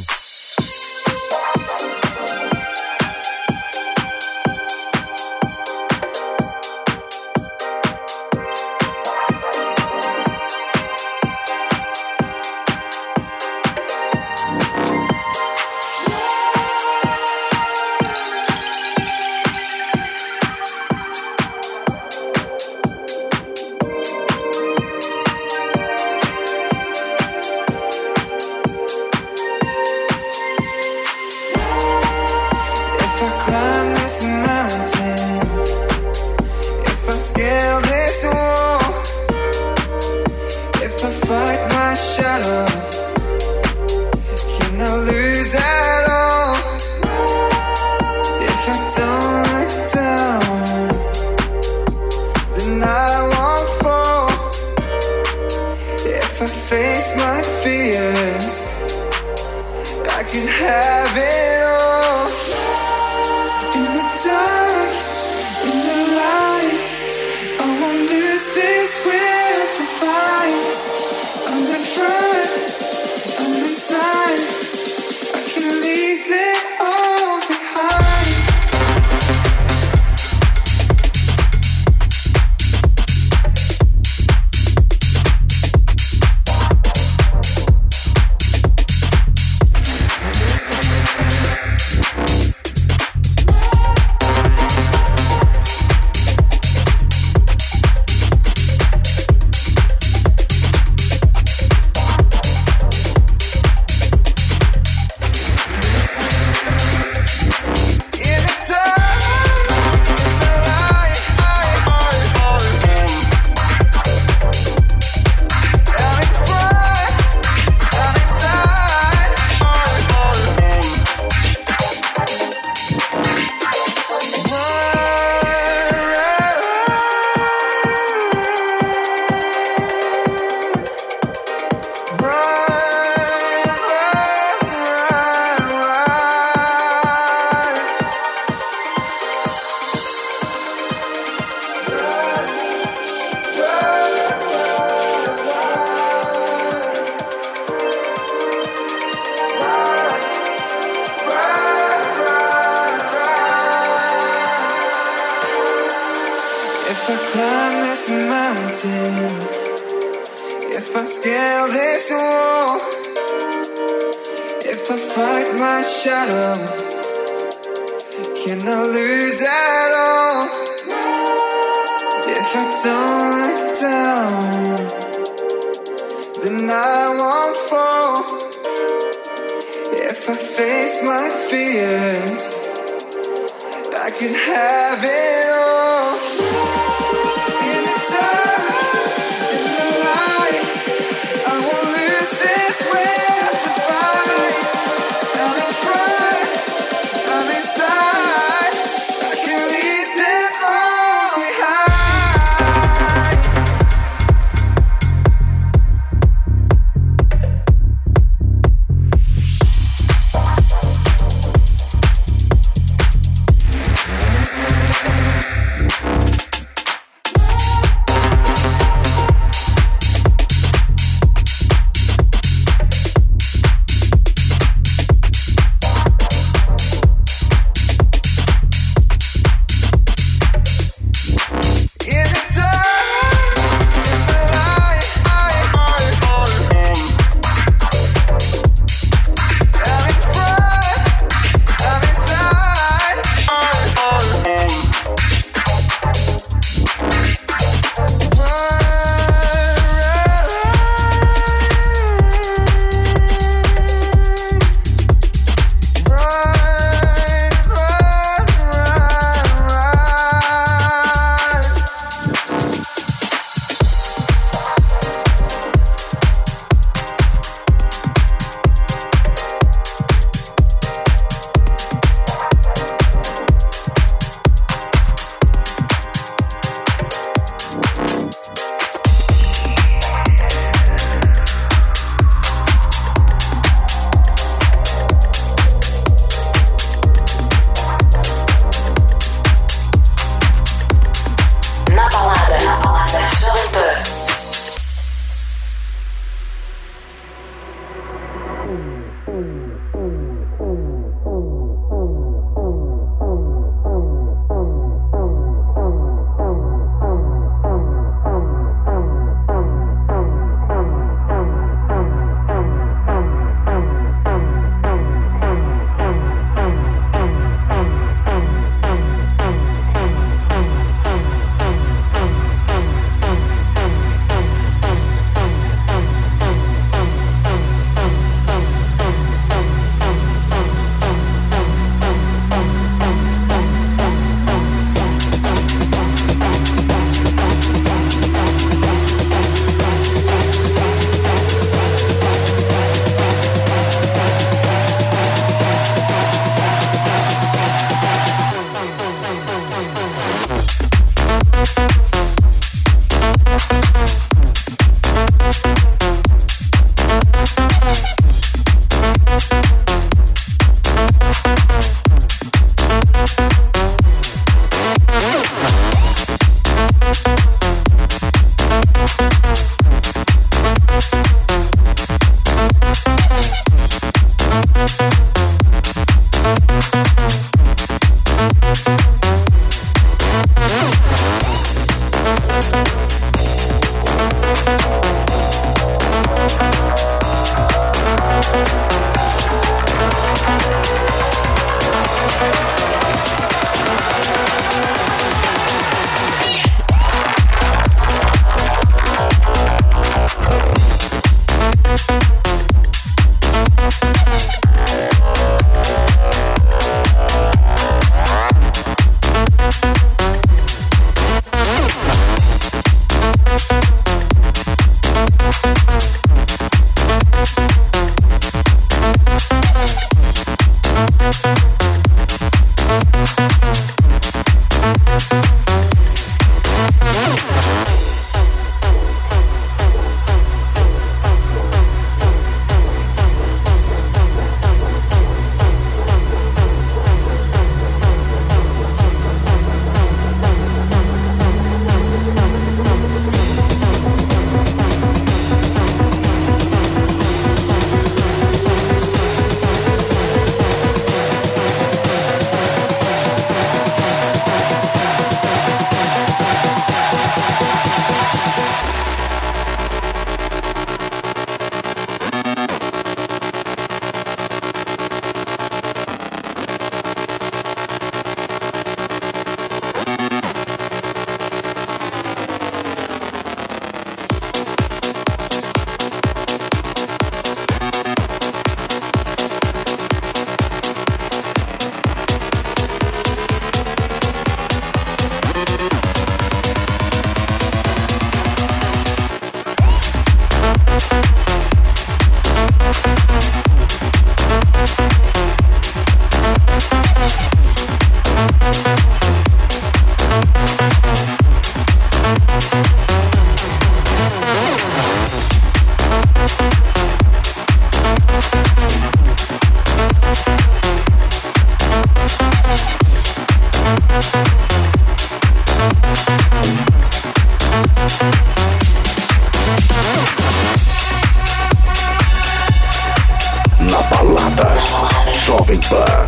Jovem Pan.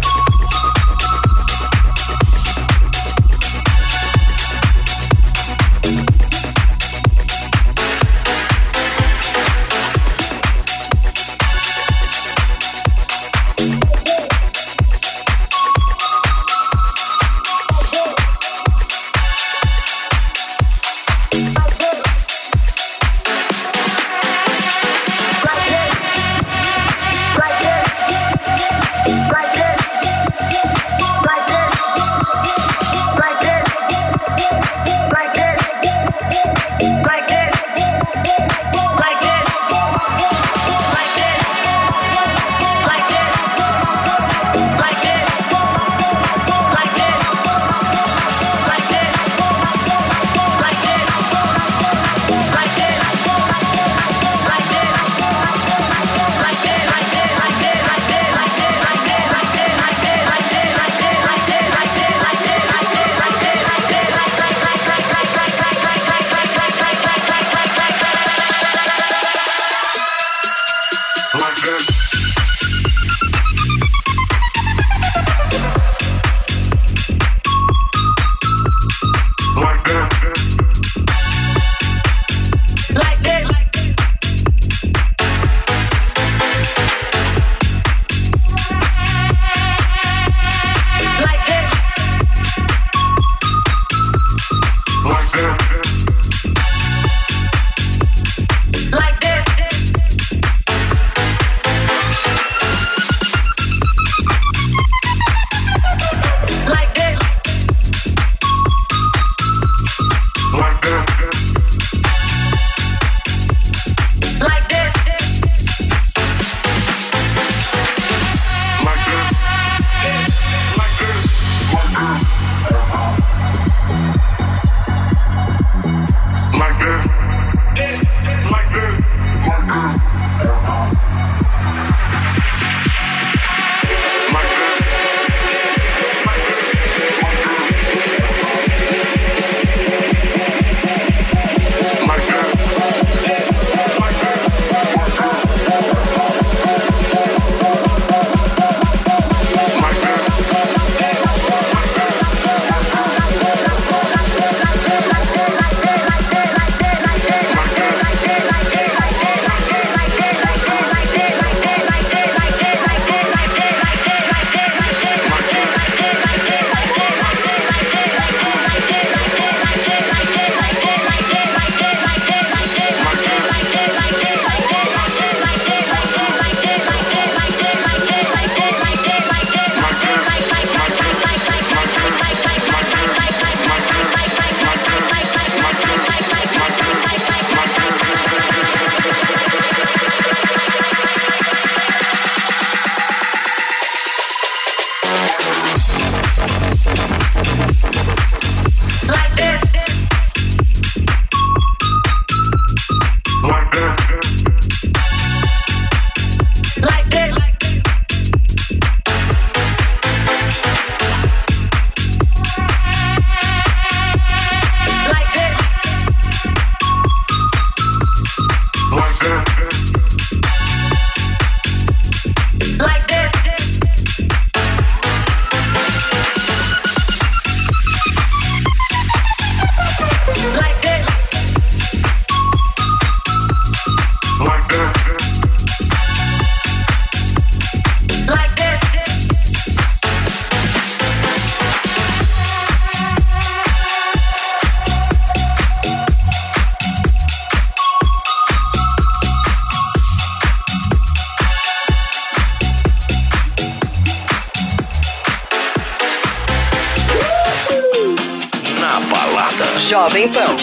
Jovem Pan.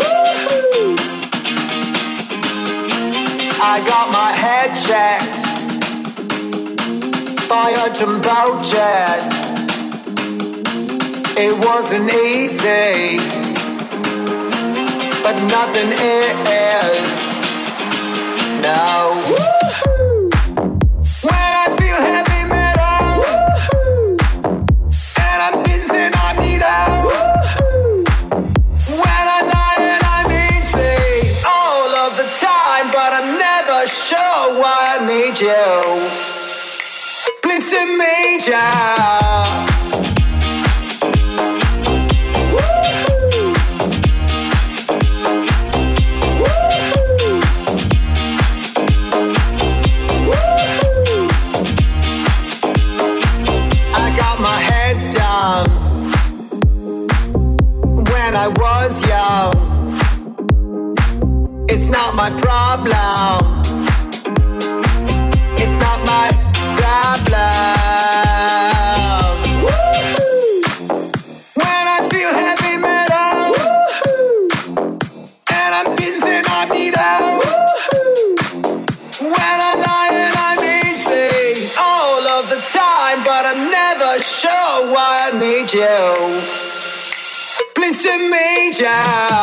I got my head checked by a jumbo jet. It wasn't easy, but nothing is. No. When I feel heavy metal, and I'm dancing on needle. When I'm lying and I'm easy all of the time, but I'm never sure why I need you. Mr. Major. I was young. It's not my problem. It's not my problem. Woo-hoo. When I feel heavy metal, woo-hoo. And I'm busy, I need out. When I'm lying, I'm easy all of the time, but I'm never sure why I need you. Mr. Major.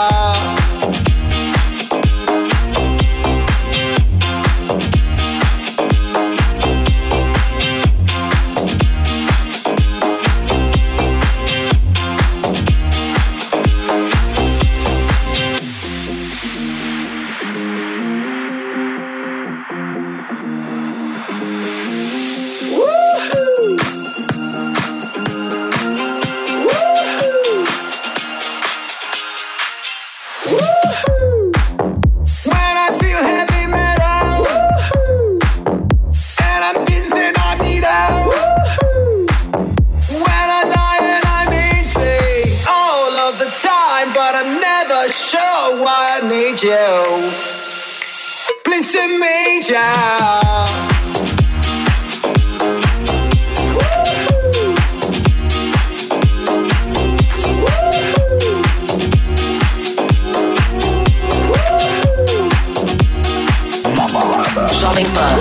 You, Mr. Major. Jovem Pan.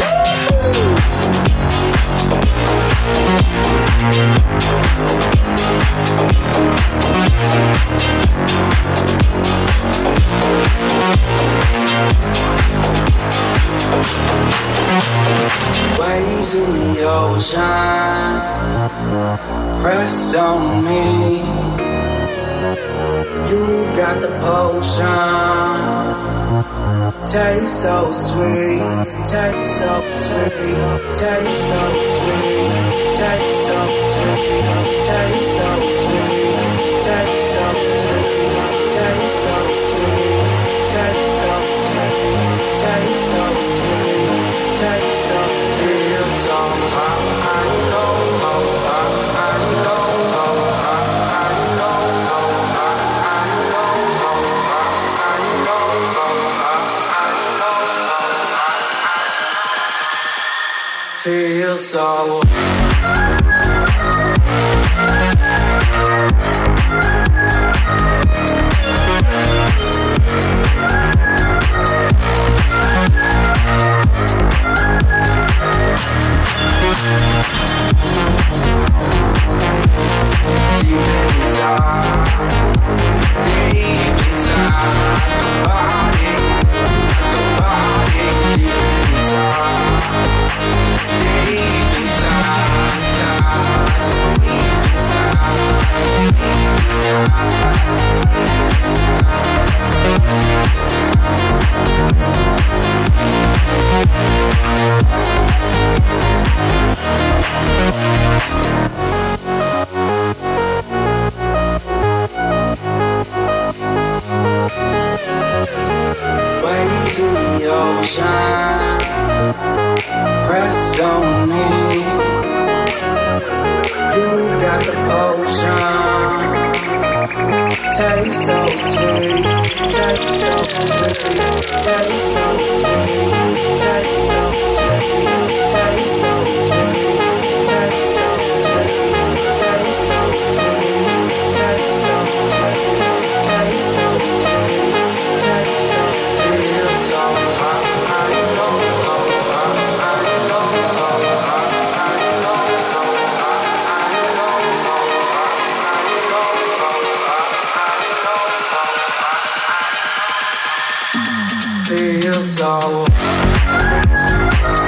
Waves in the ocean pressed on me. You've got the potion. Taste so sweet, taste so sweet, taste so sweet, taste so sweet, taste so sweet, taste so sweet, taste so sweet, taste so sweet, taste so sweet, taste so feel so high. I know, I know, feel so. Deep inside, nobody, deep waves in the ocean pressed on me. You've got the potion. Taste so sweet, taste so sweet, taste so sweet, taste so sweet, taste so sweet, taste so sweet, taste so sweet, taste so sweet, taste so sweet, taste so feel so high. I know, feel so.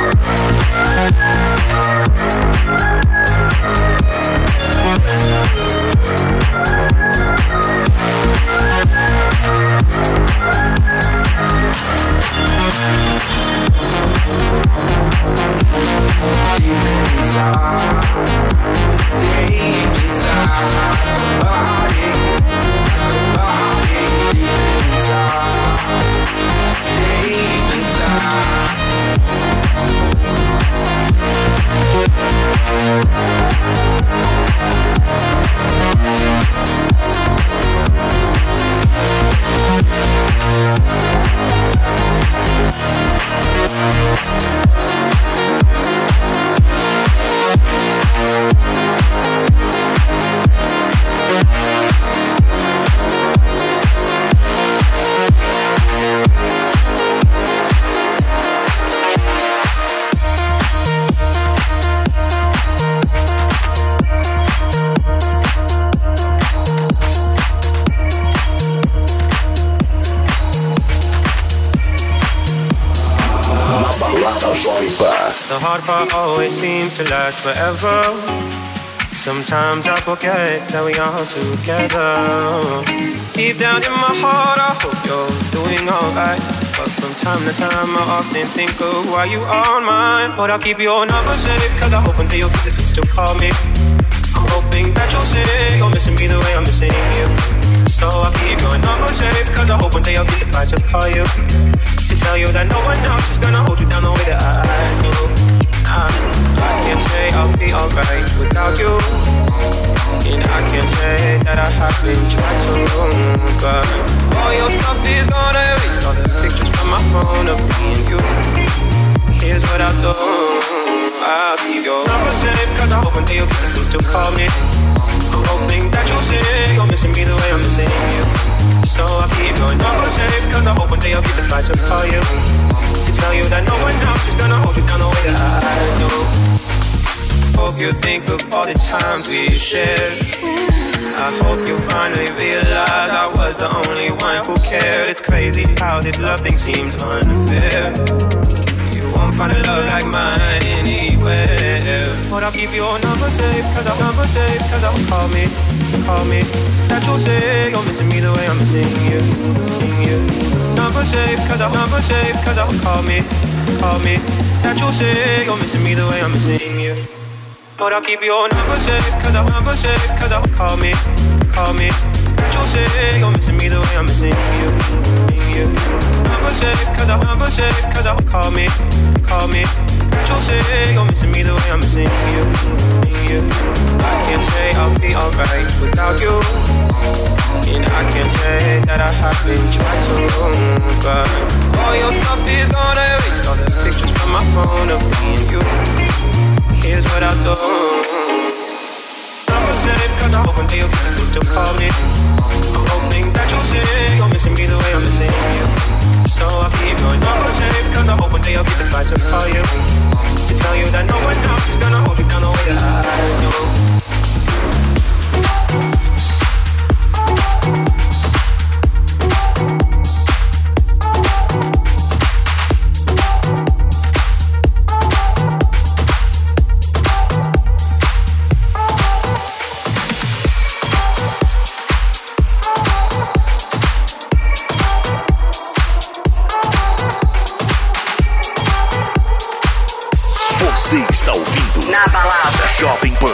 inside, deep inside, body, deep inside, deep inside. The hard part always seems to last forever. Sometimes I forget that we are together. Deep down in my heart I hope you're doing alright, but from time to time I often think of why you aren't mine. But I'll keep your number safe, cause I hope one day you'll get this and still call me. I'm hoping that you'll say you're missing me the way I'm missing you. So I'll keep your number safe, cause I hope one day I'll get the right to call you, to tell you that no one else is gonna hold you down the way that I do. I can't say I'll be alright without you, and I can't say that I haven't tried to, but all your stuff is gonna erase all the pictures from my phone of me and you. Here's what I'll do, I'll keep your number safe, cause I hope one day you'll get this and still call me. I'm hoping that you'll say you're missing me the way I'm missing you. So I'll keep your number safe, cause I hope one day I'll get the right to call you, to tell you that no one else is gonna hold you down the way that I do. Hope you think of all the times we shared. I hope you finally realize I was the only one who cared. It's crazy how this love thing seems unfair. You won't find a love like mine anywhere. But I'll keep your number safe, cause I'll call me. That you'll say you're missing me the way I'm missing you. Number safe, cause I'll call me. That you'll say you're missing me the way I'm missing you. But I'll keep your number safe, cause I'll call me. That you'll say you're missing me the way I'm missing you. Number safe, cause I'll call me. That you'll say you're missing me the way I'm missing you. I can't say I'll be alright without you, and I can't say that I haven't tried to, but all your stuff is gonna erase all the pictures from my phone of me and you. Here's what I'll do, number safe, cause I hope one day you'll get this and still call me. I'm hoping that you'll say you're missing me the way I'm missing you. So I'll keep your number safe, cause I hope one day I'll get the right to call you, to tell you that no one else is gonna hold you down the way that I do. Você está ouvindo Na Balada Jovem Pan.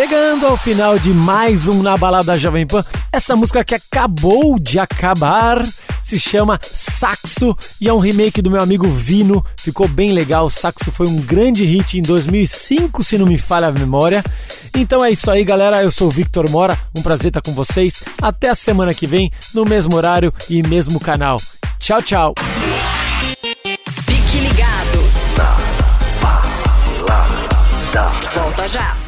Chegando ao final de mais um Na Balada Jovem Pan, essa música que acabou de acabar se chama Saxo e é um remake do meu amigo Vino, ficou bem legal. Saxo foi um grande hit em 2005, se não me falha a memória. Então é isso aí, galera, eu sou o Victor Mora, um prazer estar com vocês, até a semana que vem, no mesmo horário e mesmo canal. Tchau, tchau. Fique ligado. Na Balada. Volta já.